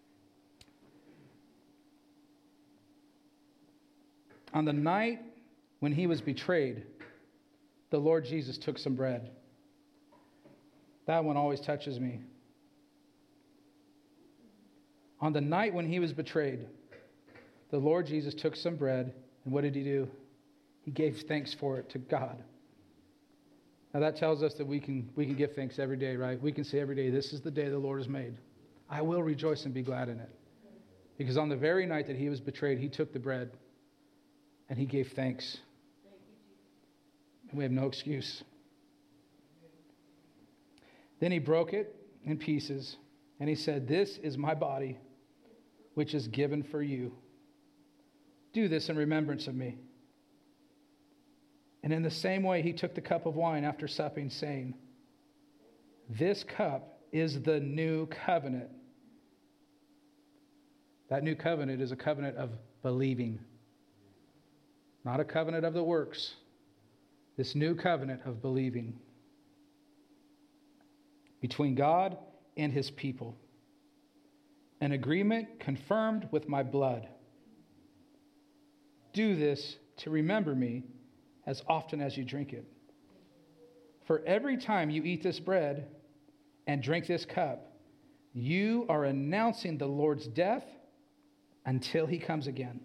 On the night when he was betrayed, the Lord Jesus took some bread. That one always touches me. On the night when he was betrayed, the Lord Jesus took some bread, and what did he do? He gave thanks for it to God. Now that tells us that we can we can give thanks every day, right? We can say every day, this is the day the Lord has made. I will rejoice and be glad in it. Because on the very night that he was betrayed, he took the bread and he gave thanks. And we have no excuse. Then he broke it in pieces and he said, this is my body, which is given for you. Do this in remembrance of me. And in the same way, he took the cup of wine after supping, saying, this cup is the new covenant. That new covenant is a covenant of believing, not a covenant of the works. This new covenant of believing between God and his people. An agreement confirmed with my blood. Do this to remember me as often as you drink it. For every time you eat this bread and drink this cup, you are announcing the Lord's death until he comes again.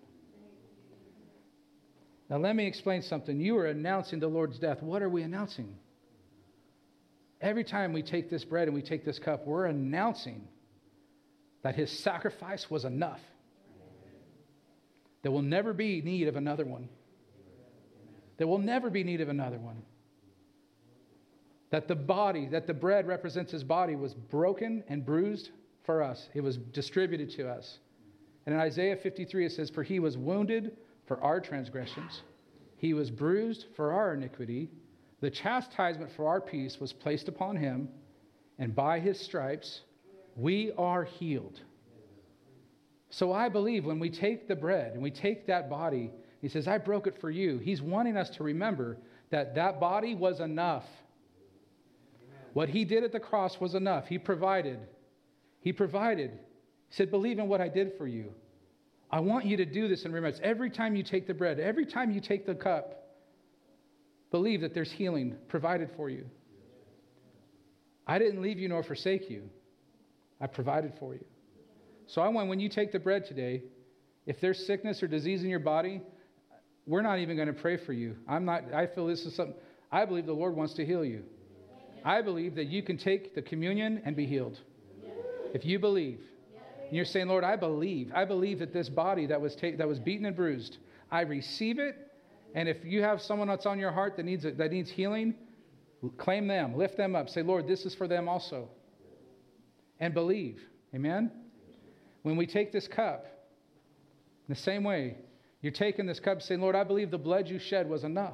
Now let me explain something. You are announcing the Lord's death. What are we announcing? Every time we take this bread and we take this cup, we're announcing that his sacrifice was enough. There will never be need of another one. There will never be need of another one. That the body, that the bread represents his body, was broken and bruised for us. It was distributed to us. And in Isaiah fifty-three, it says, for he was wounded for our transgressions. He was bruised for our iniquity. The chastisement for our peace was placed upon him. And by his stripes, we are healed. So I believe when we take the bread and we take that body, he says, I broke it for you. He's wanting us to remember that that body was enough. Amen. What he did at the cross was enough. He provided. He provided. He said, believe in what I did for you. I want you to do this in remembrance. Every time you take the bread, every time you take the cup, believe that there's healing provided for you. I didn't leave you nor forsake you. I provided for you. So I want, when you take the bread today, if there's sickness or disease in your body, we're not even going to pray for you. I'm not, I feel this is something, I believe the Lord wants to heal you. I believe that you can take the communion and be healed. If you believe. And you're saying, Lord, I believe. I believe that this body that was ta- that was beaten and bruised, I receive it. And if you have someone that's on your heart that needs that needs healing, claim them, lift them up. Say, Lord, this is for them also. And believe. Amen? When we take this cup, in the same way, you're taking this cup saying, Lord, I believe the blood you shed was enough.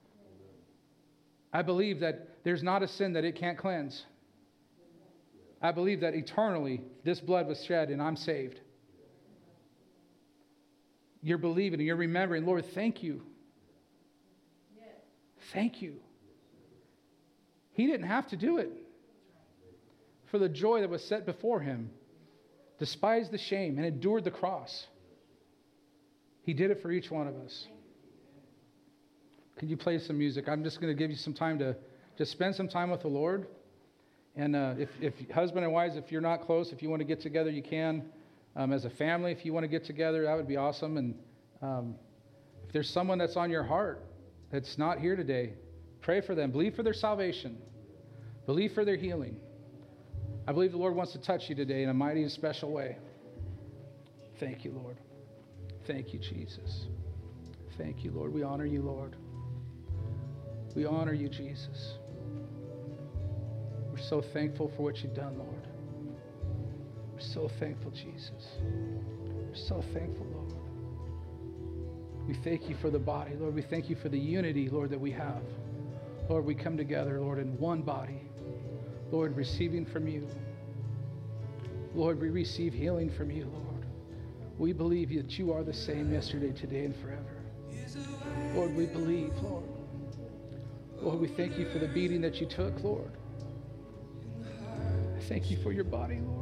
I believe that there's not a sin that it can't cleanse. I believe that eternally this blood was shed and I'm saved. You're believing and you're remembering, Lord, thank you. Thank you. He didn't have to do it. For the joy that was set before him, despised the shame and endured the cross. He did it for each one of us. Can you play some music? I'm just going to give you some time to, just spend some time with the Lord. And uh, if, if husband and wives, if you're not close, if you want to get together, you can. Um, as a family, if you want to get together, that would be awesome. And um, if there's someone that's on your heart that's not here today, pray for them. Believe for their salvation. Believe for their healing. I believe the Lord wants to touch you today in a mighty and special way. Thank you, Lord. Thank you, Jesus. Thank you, Lord. We honor you, Lord. We honor you, Jesus. We're so thankful for what you've done, Lord. We're so thankful, Jesus. We're so thankful, Lord. We thank you for the body, Lord. We thank you for the unity, Lord, that we have. Lord, we come together, Lord, in one body. Lord, receiving from you. Lord, we receive healing from you, Lord. We believe that you are the same yesterday, today, and forever. Lord, we believe, Lord. Lord, we thank you for the beating that you took, Lord. I thank you for your body, Lord.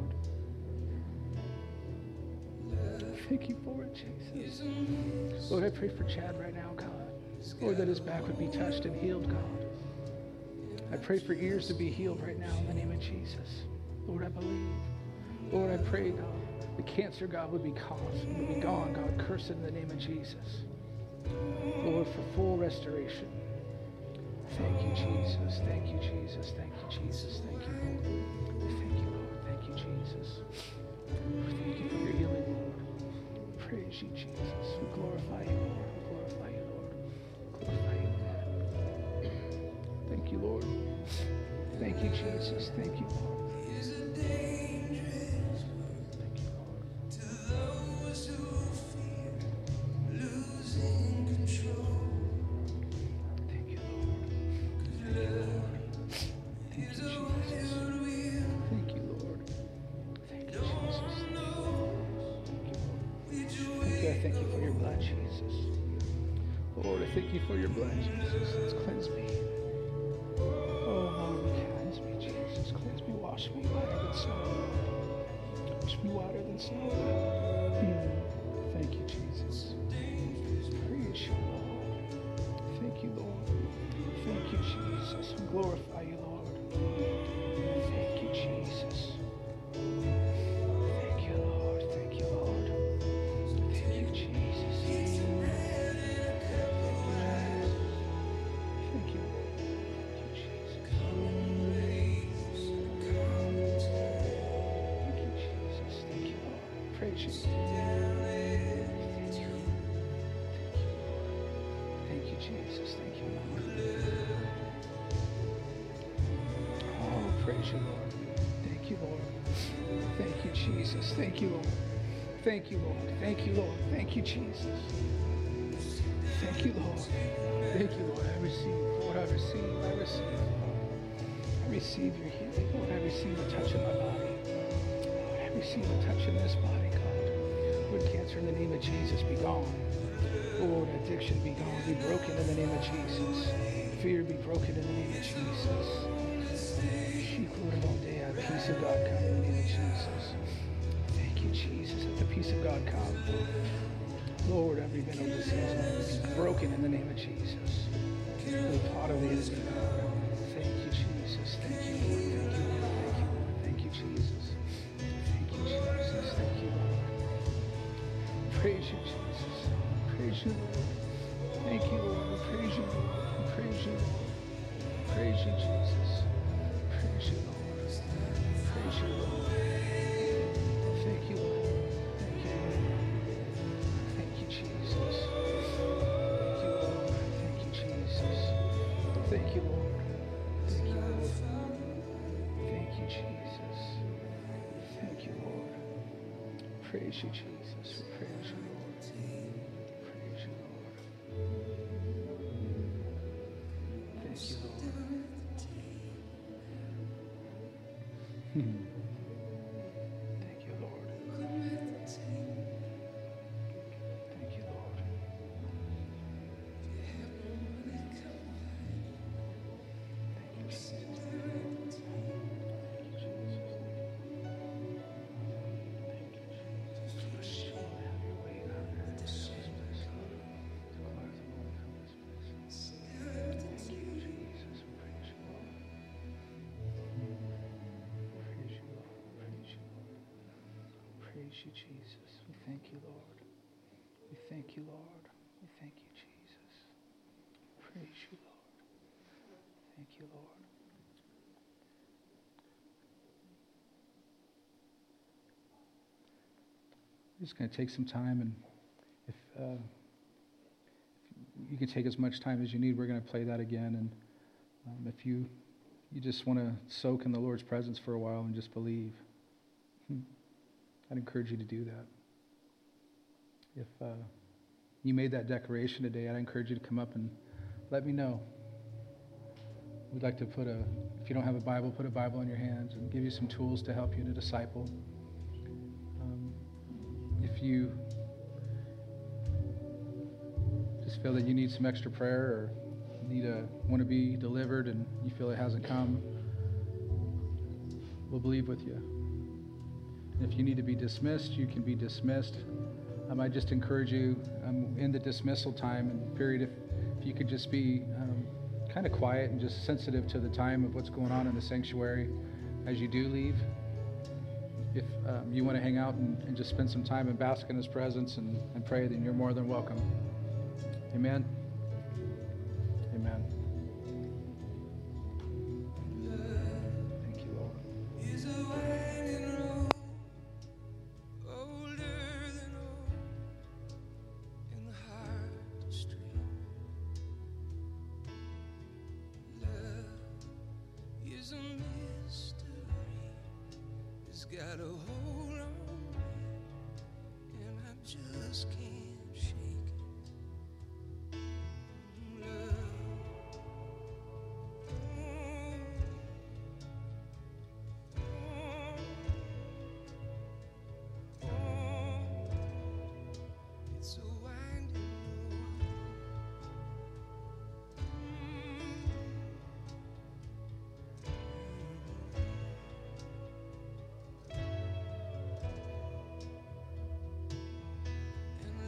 Thank you for it, Jesus. Lord, I pray for Chad right now, God. Lord, that his back would be touched and healed, God. I pray for ears to be healed right now in the name of Jesus. Lord, I believe. Lord, I pray, God, the cancer, God, would be caused, would be gone, God. Curse it in the name of Jesus. Lord, for full restoration. Thank you, Jesus. Thank you, Jesus. Thank you, Jesus. Thank you, Lord. Thank you, Lord. Thank you, Jesus. Thank you for your healing, Lord. Praise you, Jesus. We glorify you, Lord. We glorify you, Lord. Glorify you, Lord. Thank you, Lord. Thank you, Jesus. Thank you, Lord. Thank you for your blood, Jesus. Lord, I thank you for your blood, Jesus. It's cleansed me. Oh, Lord, cleanse me, Jesus. Cleanse me, wash me whiter than snow. Wash me whiter than snow. Mm. Thank you, Jesus. Praise you, Lord. Thank you, Lord. Thank you, Jesus. We glorify you, Lord. Thank you, Jesus. Jesus, thank you, Lord. Oh, praise you, Lord. Thank you, Lord. Thank you, Jesus. Thank you, Lord. Thank you, Lord. Thank you, Lord. Thank you, Jesus. Thank you, Lord. Thank you, Lord. I receive, Lord, I receive, I receive. I receive your healing, Lord. I receive a touch in my body. Lord, I receive a touch in this body, God. Lord, cancer in the name of Jesus, be gone. Lord, addiction be gone, be broken in the name of Jesus. Fear be broken in the name of Jesus. Peace of God come in the name of Jesus. Thank you, Jesus. Let the peace of God come. Lord, every mental disease be broken in the name of Jesus. The plot of the enemy, God. Thank you, Jesus. Thank you, Lord. Thank you, Lord. Thank you, Jesus. Thank you, Jesus. Thank you, Lord. Praise you, Jesus. Praise you, Lord. Thank you, Lord. We praise you, Lord. We praise you, Lord. Praise you, Jesus. Praise you, Lord. Praise you, Lord. Thank you, Lord. Thank you, Lord. Thank you, Jesus. Thank you, Lord. Thank you, Jesus. Thank you, Lord. Thank you, Lord. Thank you, Jesus. Thank you, Lord. Praise you, Jesus. We praise you, Lord. Hmm. Thank you, Lord. Thank you, Lord. Thank you, Jesus. Thank you, Jesus. Thank you, Jesus. Have your way, you, Jesus. We thank you, Lord. We thank you, Lord. We thank you, Jesus. Praise you, Lord. Thank you, Lord. We're just going to take some time, and if, uh, if you can take as much time as you need, we're going to play that again. And um, if you you just want to soak in the Lord's presence for a while and just believe, hmm, I'd encourage you to do that. If uh, you made that declaration today, I'd encourage you to come up and let me know. We'd like to put a, if you don't have a Bible, put a Bible in your hands and give you some tools to help you to disciple. Um, if you just feel that you need some extra prayer or need a, want to be delivered and you feel it hasn't come, we'll believe with you. And if you need to be dismissed, you can be dismissed. Um, I just encourage you um, in the dismissal time and period, if, if you could just be um, kind of quiet and just sensitive to the time of what's going on in the sanctuary as you do leave. If um, you want to hang out and, and just spend some time and bask in His presence and, and pray, then you're more than welcome. Amen. Amen. Thank you, Lord. Is a winding road, older than old, in the heart of stream. Love is a mystery. It's got a hold on me, and I just can't shake it. Love. It's a winding road. And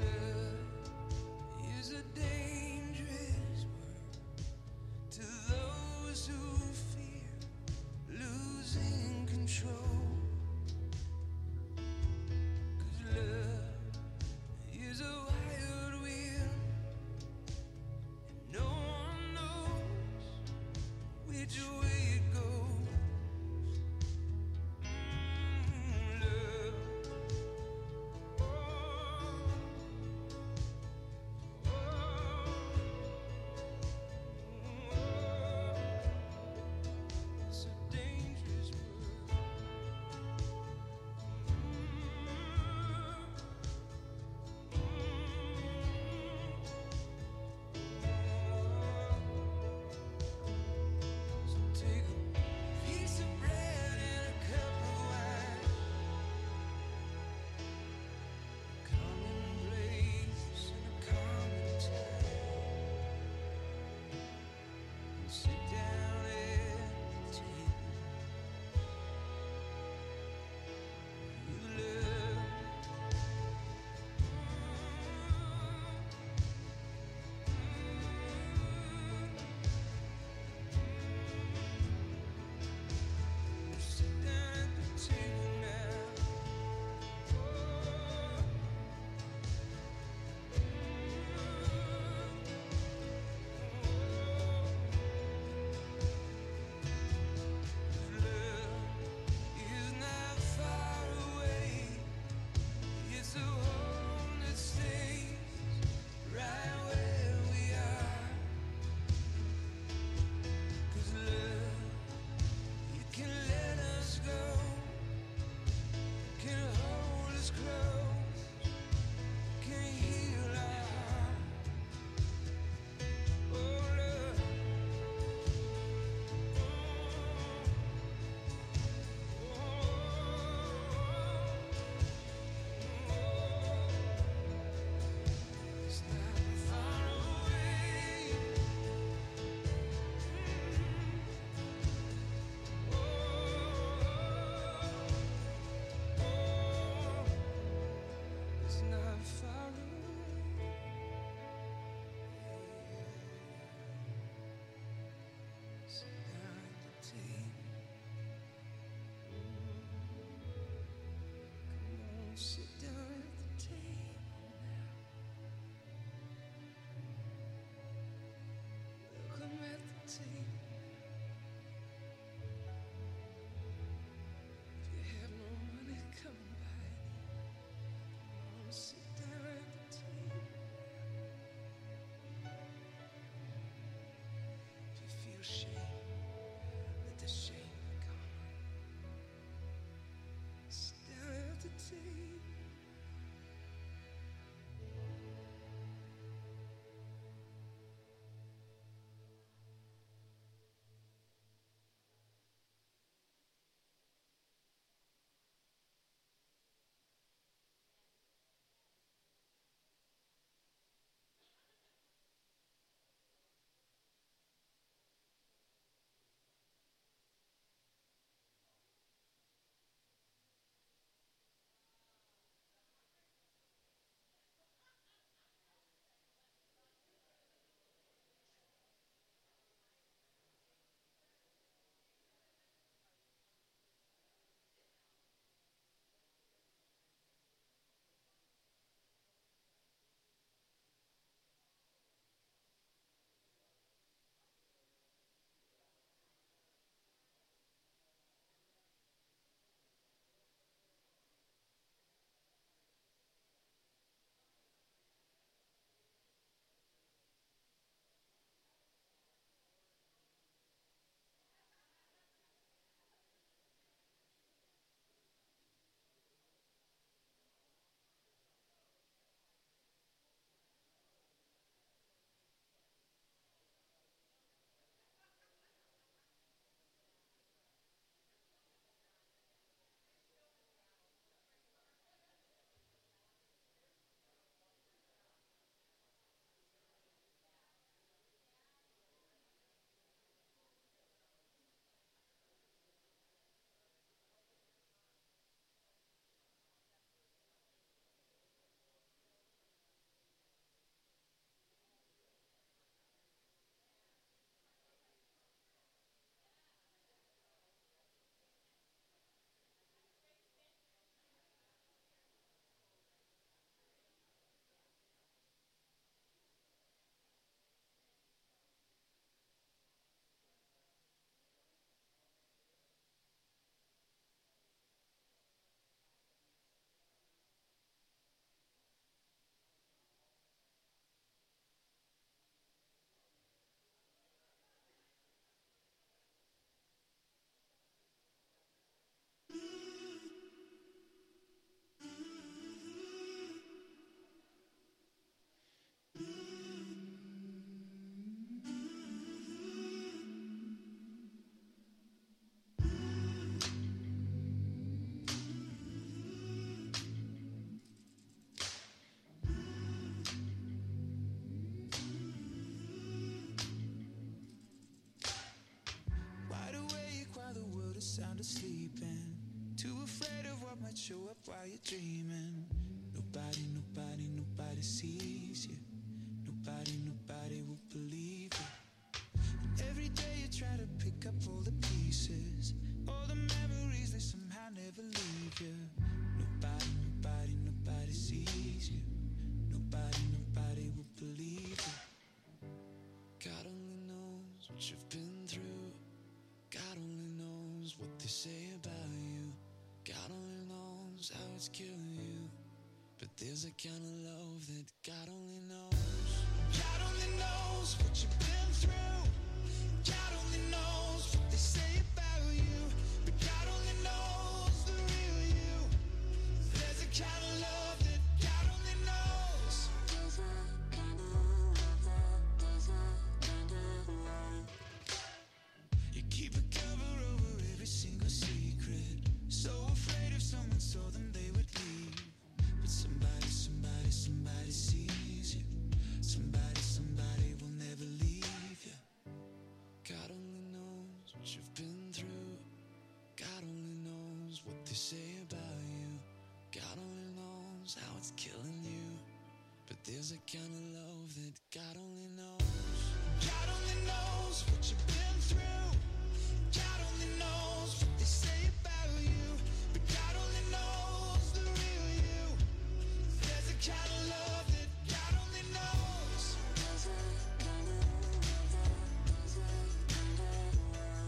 too afraid of what might show up while you're dreaming. Nobody, nobody, nobody sees you. Nobody, nobody will believe you. And every day you try to pick up all the pieces, all the memories, they somehow never leave you. Nobody, nobody, nobody sees you. Nobody, nobody will believe you. God only knows what you've been through. God only knows what they say about you. God only knows how it's killing you. But there's a kind of love that God only knows. God only knows what you've been through. God only knows what they say about you. But God only knows the real you. There's a kind of love that God only knows. There's a kind of love that, there's a kind of love. You keep a cover over every single secret. So afraid if someone saw them they would leave. But somebody, somebody, somebody sees you. Somebody, somebody will never leave you. God only knows what you've been through. God only knows what they say about you. God only knows how it's killing you. But there's a kind of love that God only knows. God only knows what you've been through. God only knows what they say about you. But God only knows the real you. There's a kind of love that God only knows. There's a kind of love that, there's a kind of love.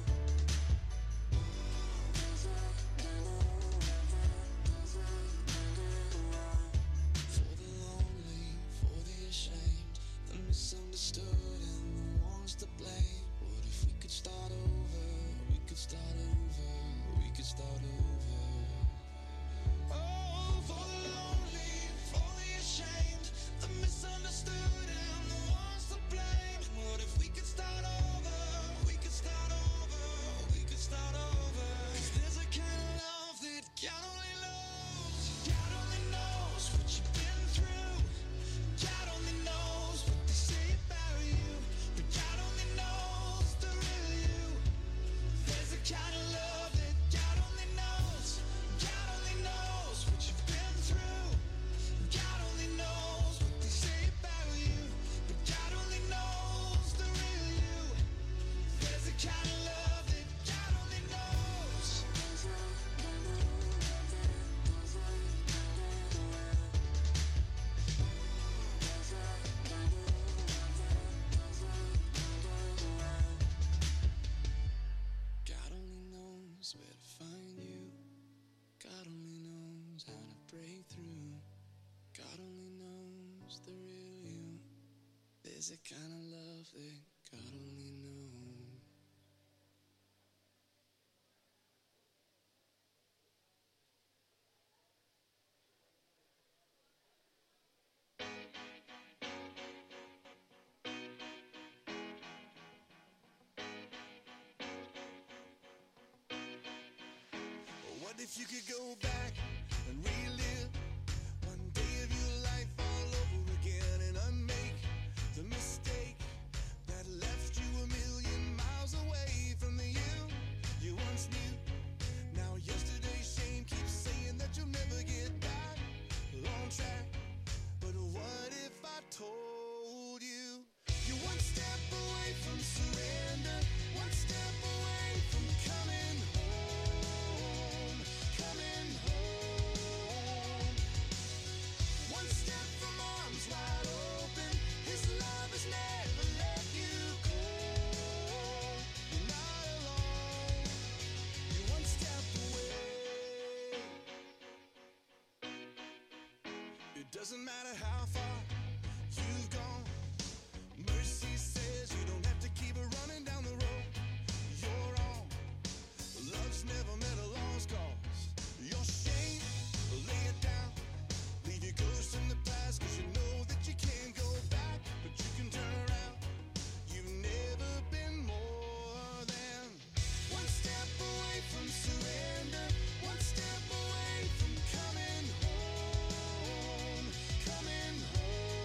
There's a kind of love that, there's a kind of love. For the lonely, for the ashamed, the misunderstood and the ones to blame. What if we could start over? We could start over. We could start over. Oh, for the lonely, for the ashamed, the misunderstood and the ones to blame. What if we could start over? We could start over. We could start over. 'Cause there's a kind of love that God only knows. God only knows what you've been through. God only knows what they say about you. But God only knows the real you. There's a kind of love that God only knows. God only knows what you've been through. God only knows what they say about you. But God only knows the real you. There's a kind of love that God only knows. There's a kind of love that, there's a kind of love. There's a kind of love that, there's a kind of love. God only knows where to find you. God only knows how to break through. God only knows the real you. There's a kind of love that God only knows. What if you could go back and relive one day of your life all over again and unmake the mistake that left you a million miles away from the you you once knew? Now yesterday's shame keeps saying that you'll never get back on track. But what if I told you you're one step away from surrender, one step away from coming home, coming home. One step from arms wide open, His love has never let you go. You're not alone, you're one step away. It doesn't matter how far you've gone. Mercy says you don't have to keep running down the road you're on. Love's never met a lost cause. Your shame, lay it down. Leave your ghost in the past, 'cause you know that you can't go back. But you can turn around. You've never been more than one step away from surrender, one step away from coming home, coming home.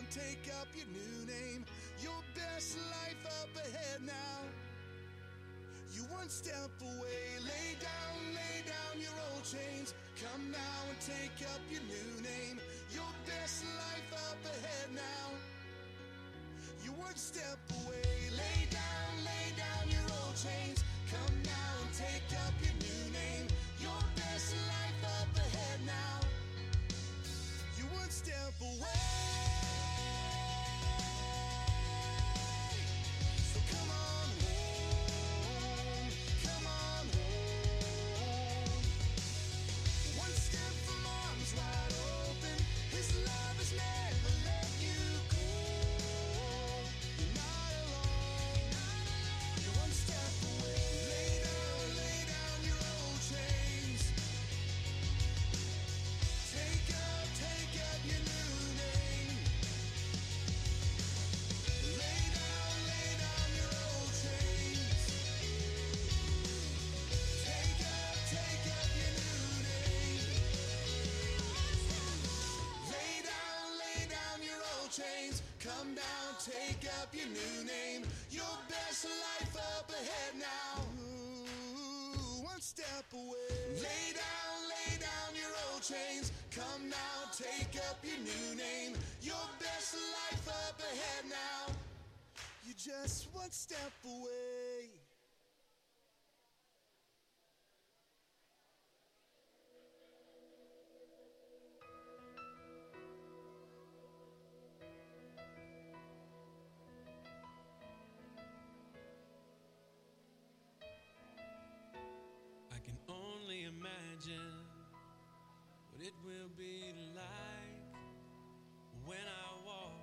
take up your new name. Your best life up ahead now. You one step away. Lay down, lay down your old chains. Come now and take up your new name. Your best life up ahead now. You one step away. Lay down, lay down your old chains. Come now and take up your new name. Your best life up ahead now. You one step away. So come on home, come on home. One step from arms wide open. His love has never let you go. You're not alone. You're one step away. Lay down, lay down your old chains. Take up, take up your new name. Lay down, lay down your old chains. Take up, take up your new name. Lay down, lay down your old chains. Come down, take up your new name. Your best life up ahead now. Ooh, one step away. Lay down, lay down your old chains. Come now, take up your new name. Your best life up ahead now. You're just one step away. I can only imagine what it will be like when I walk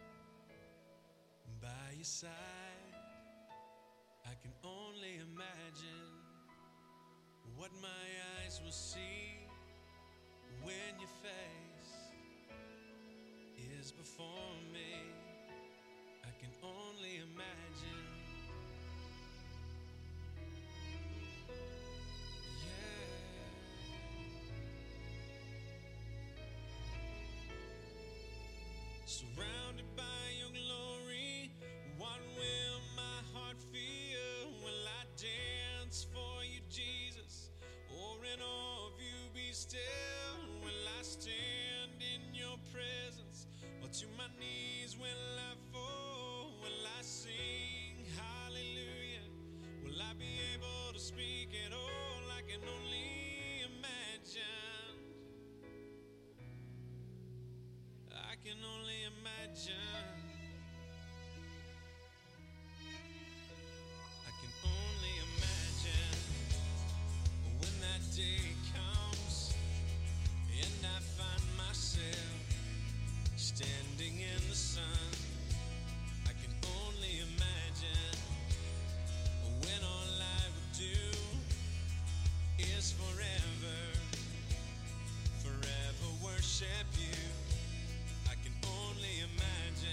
by your side. I can only imagine what my eyes will see when your face is before me. I can only imagine. Surrounded by your glory, what will my heart feel? Will I dance for you, Jesus? Or in awe of you be still? Will I stand in your presence? Or to my knees will I fall? Will I sing hallelujah? Will I be able to speak at all? I can only imagine. I can only imagine. I can only imagine when that day comes and I find myself standing in the sun. I can only imagine when all I would do is forever, forever worship you. I can only imagine.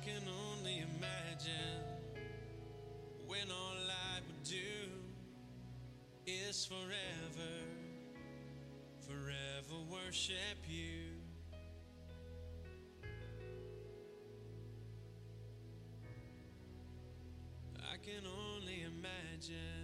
can only imagine when all I would do is forever, forever worship you. I can only imagine.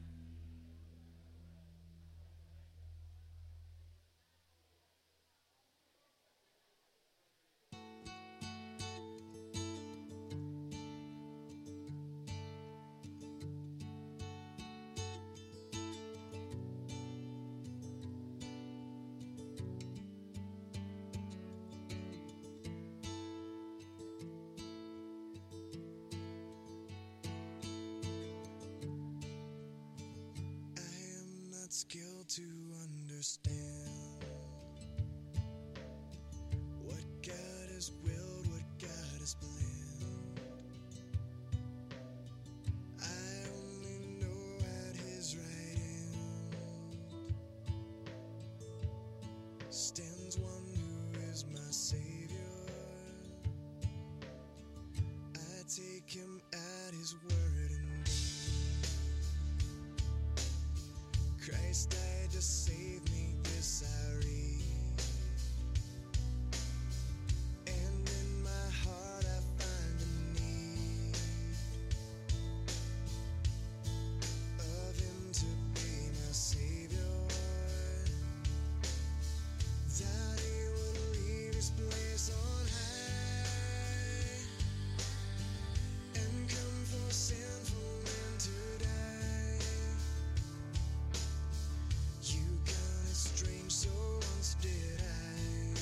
Skill to understand what God has willed, what God has planned. I only know at His right hand stands one who is my Savior. I take Him at His word and Christ died to save me, this I read. And in my heart I find a need of Him to be my Savior, that He will leave His place on high and come for sinful men to die. Strange, so once did I,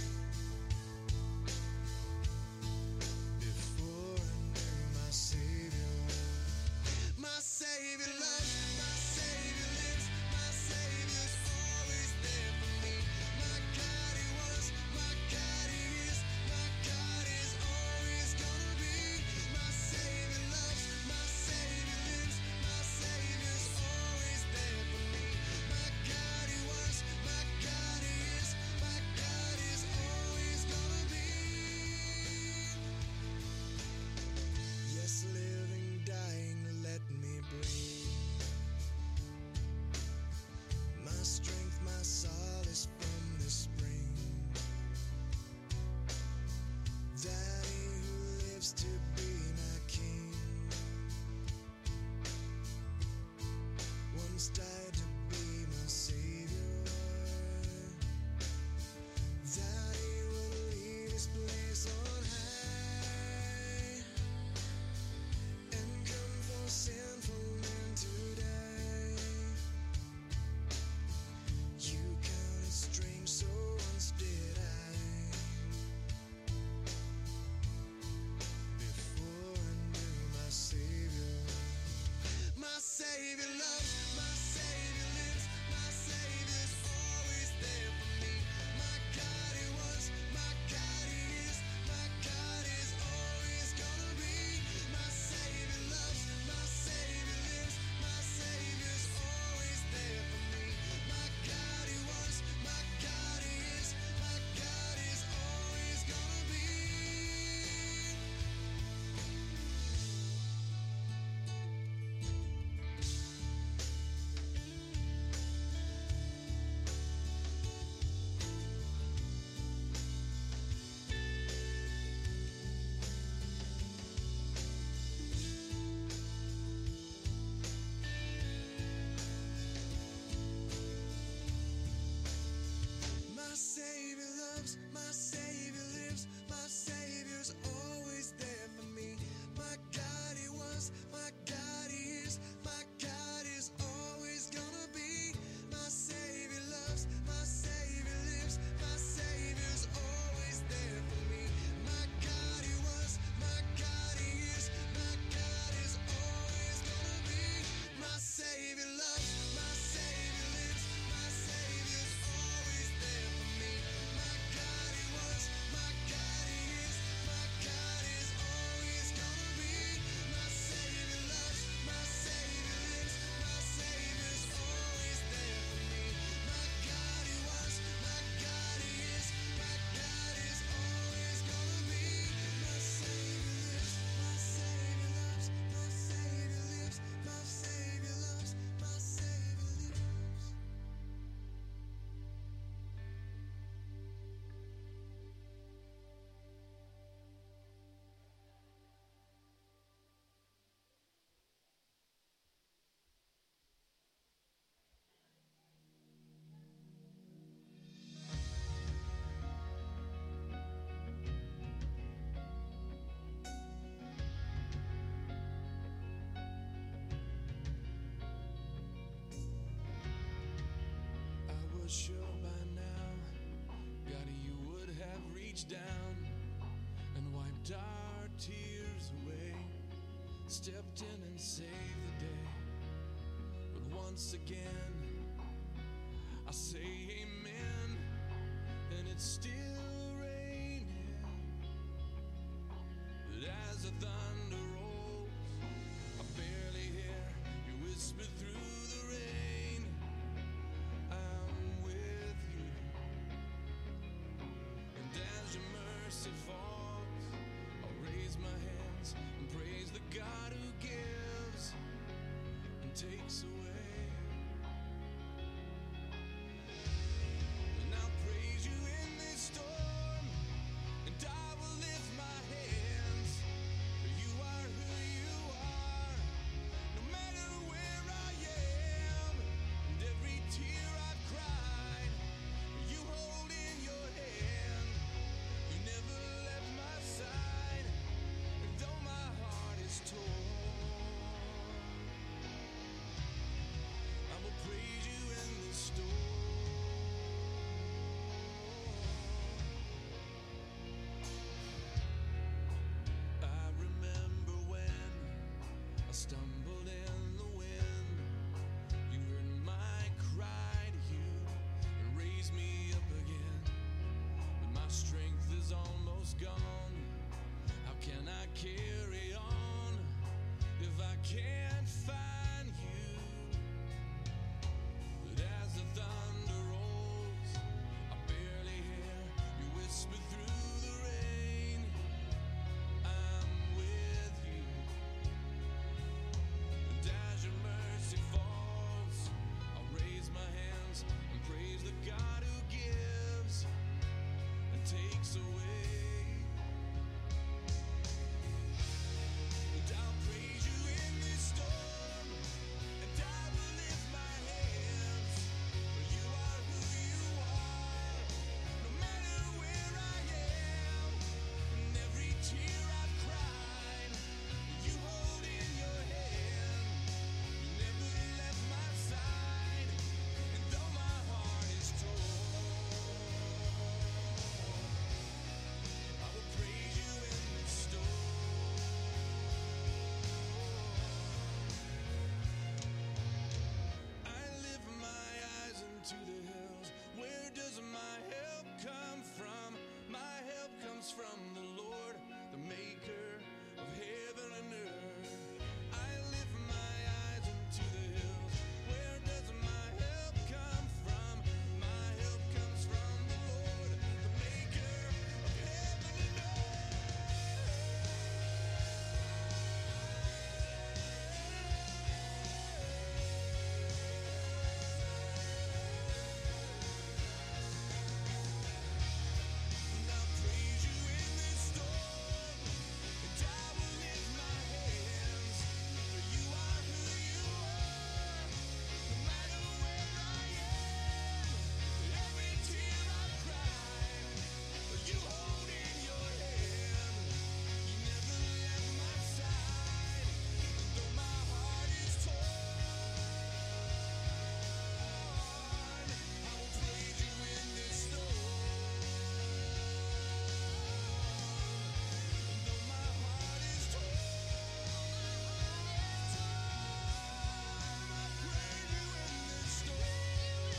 before I knew my Savior. My Savior loves, my Savior lives, my Savior's always there for me. My God He was, my God He is, my God is always gonna be. My Savior loves, my Savior lives, my Savior's always there for me. My God He was, my God He is, my God is always gonna be. Yes, living, dying, let me breathe. My strength, my solace from the spring. That He who lives to be my King once died to be my Savior. That He will leave His place on high and come for sinful men to die. You counted strange, so once did I, before I knew my Savior. My Savior loves, my Savior lives, my Savior's always there for me. My God He was, my God He is, my was sure by now, God, you would have reached down and wiped our tears away, stepped in and saved the day. But once again, I say amen, and it's still raining. But as the thunder rolls, I barely hear you whisper through the rain, I'm with you. And as your mercy falls, I'll raise my hands and praise the God who gives and takes away. And I'll praise you in this storm, and I will lift my hands, for you are who you are, no matter where I am. And every tear I've cried, you hold in your hand. You never left my side, and though my heart is torn, I will praise you in this storm. I remember when I stumbled in the wind. You heard my cry to you and raised me up again. But my strength is almost gone. How can I carry on if I can't find you? But as the thunder rolls, I barely hear you whisper through the rain, I'm with you. And as your mercy falls, I'll raise my hands and praise the God who gives and takes away. And I'll praise you in this storm, and I will lift my hands, for you are who you are, no matter where I am. And every tear I've cried, you hold in your hand. You never left my side, and though my heart is torn, I will praise you in this storm. I lift my eyes into the hills. Where does my help come from? My help comes from the Lord, the maker of heaven and earth. I lift my eyes into the hills. Where does my help come from? My help comes from the Lord, the maker of heaven and And I'll praise you in this storm, and I will lift my hands, for you are who you are, no matter where I am. Every tear I've cried, you hold in your hand. You never left my side, and though my heart is torn, I will praise you in this storm. And though my heart is torn, I praise you in this storm.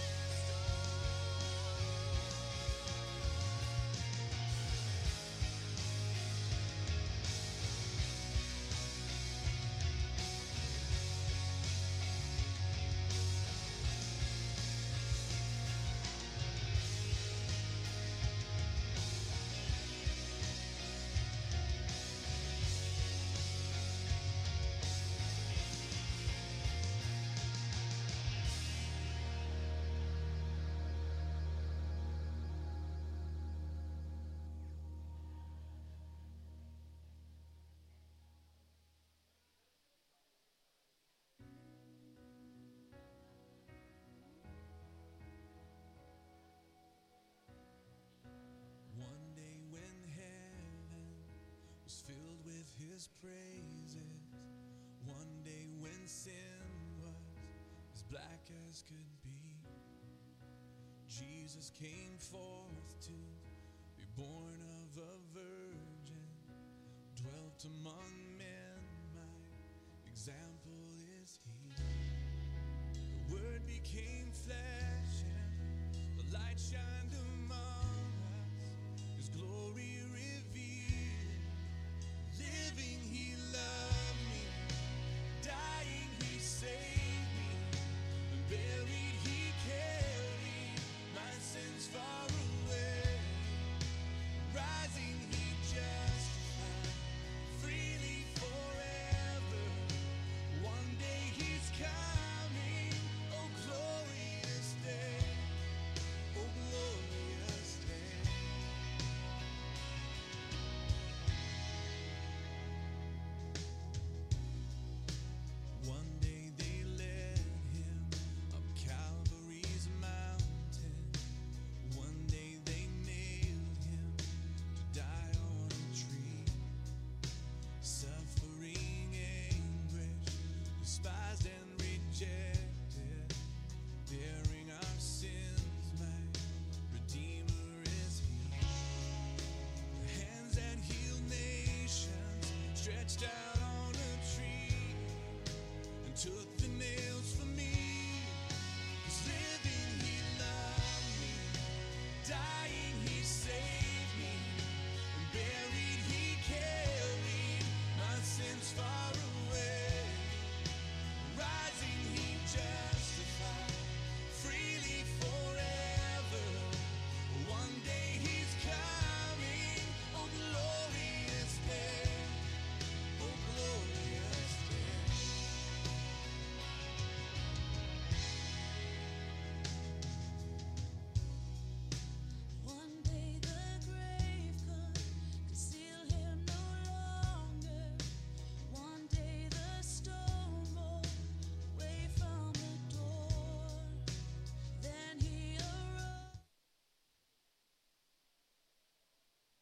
One day when heaven was filled with his praises, one day when sin was as black as could be, Jesus came forth to be born of a virgin, dwelt among men, my example is he. The word became flesh and the light shined among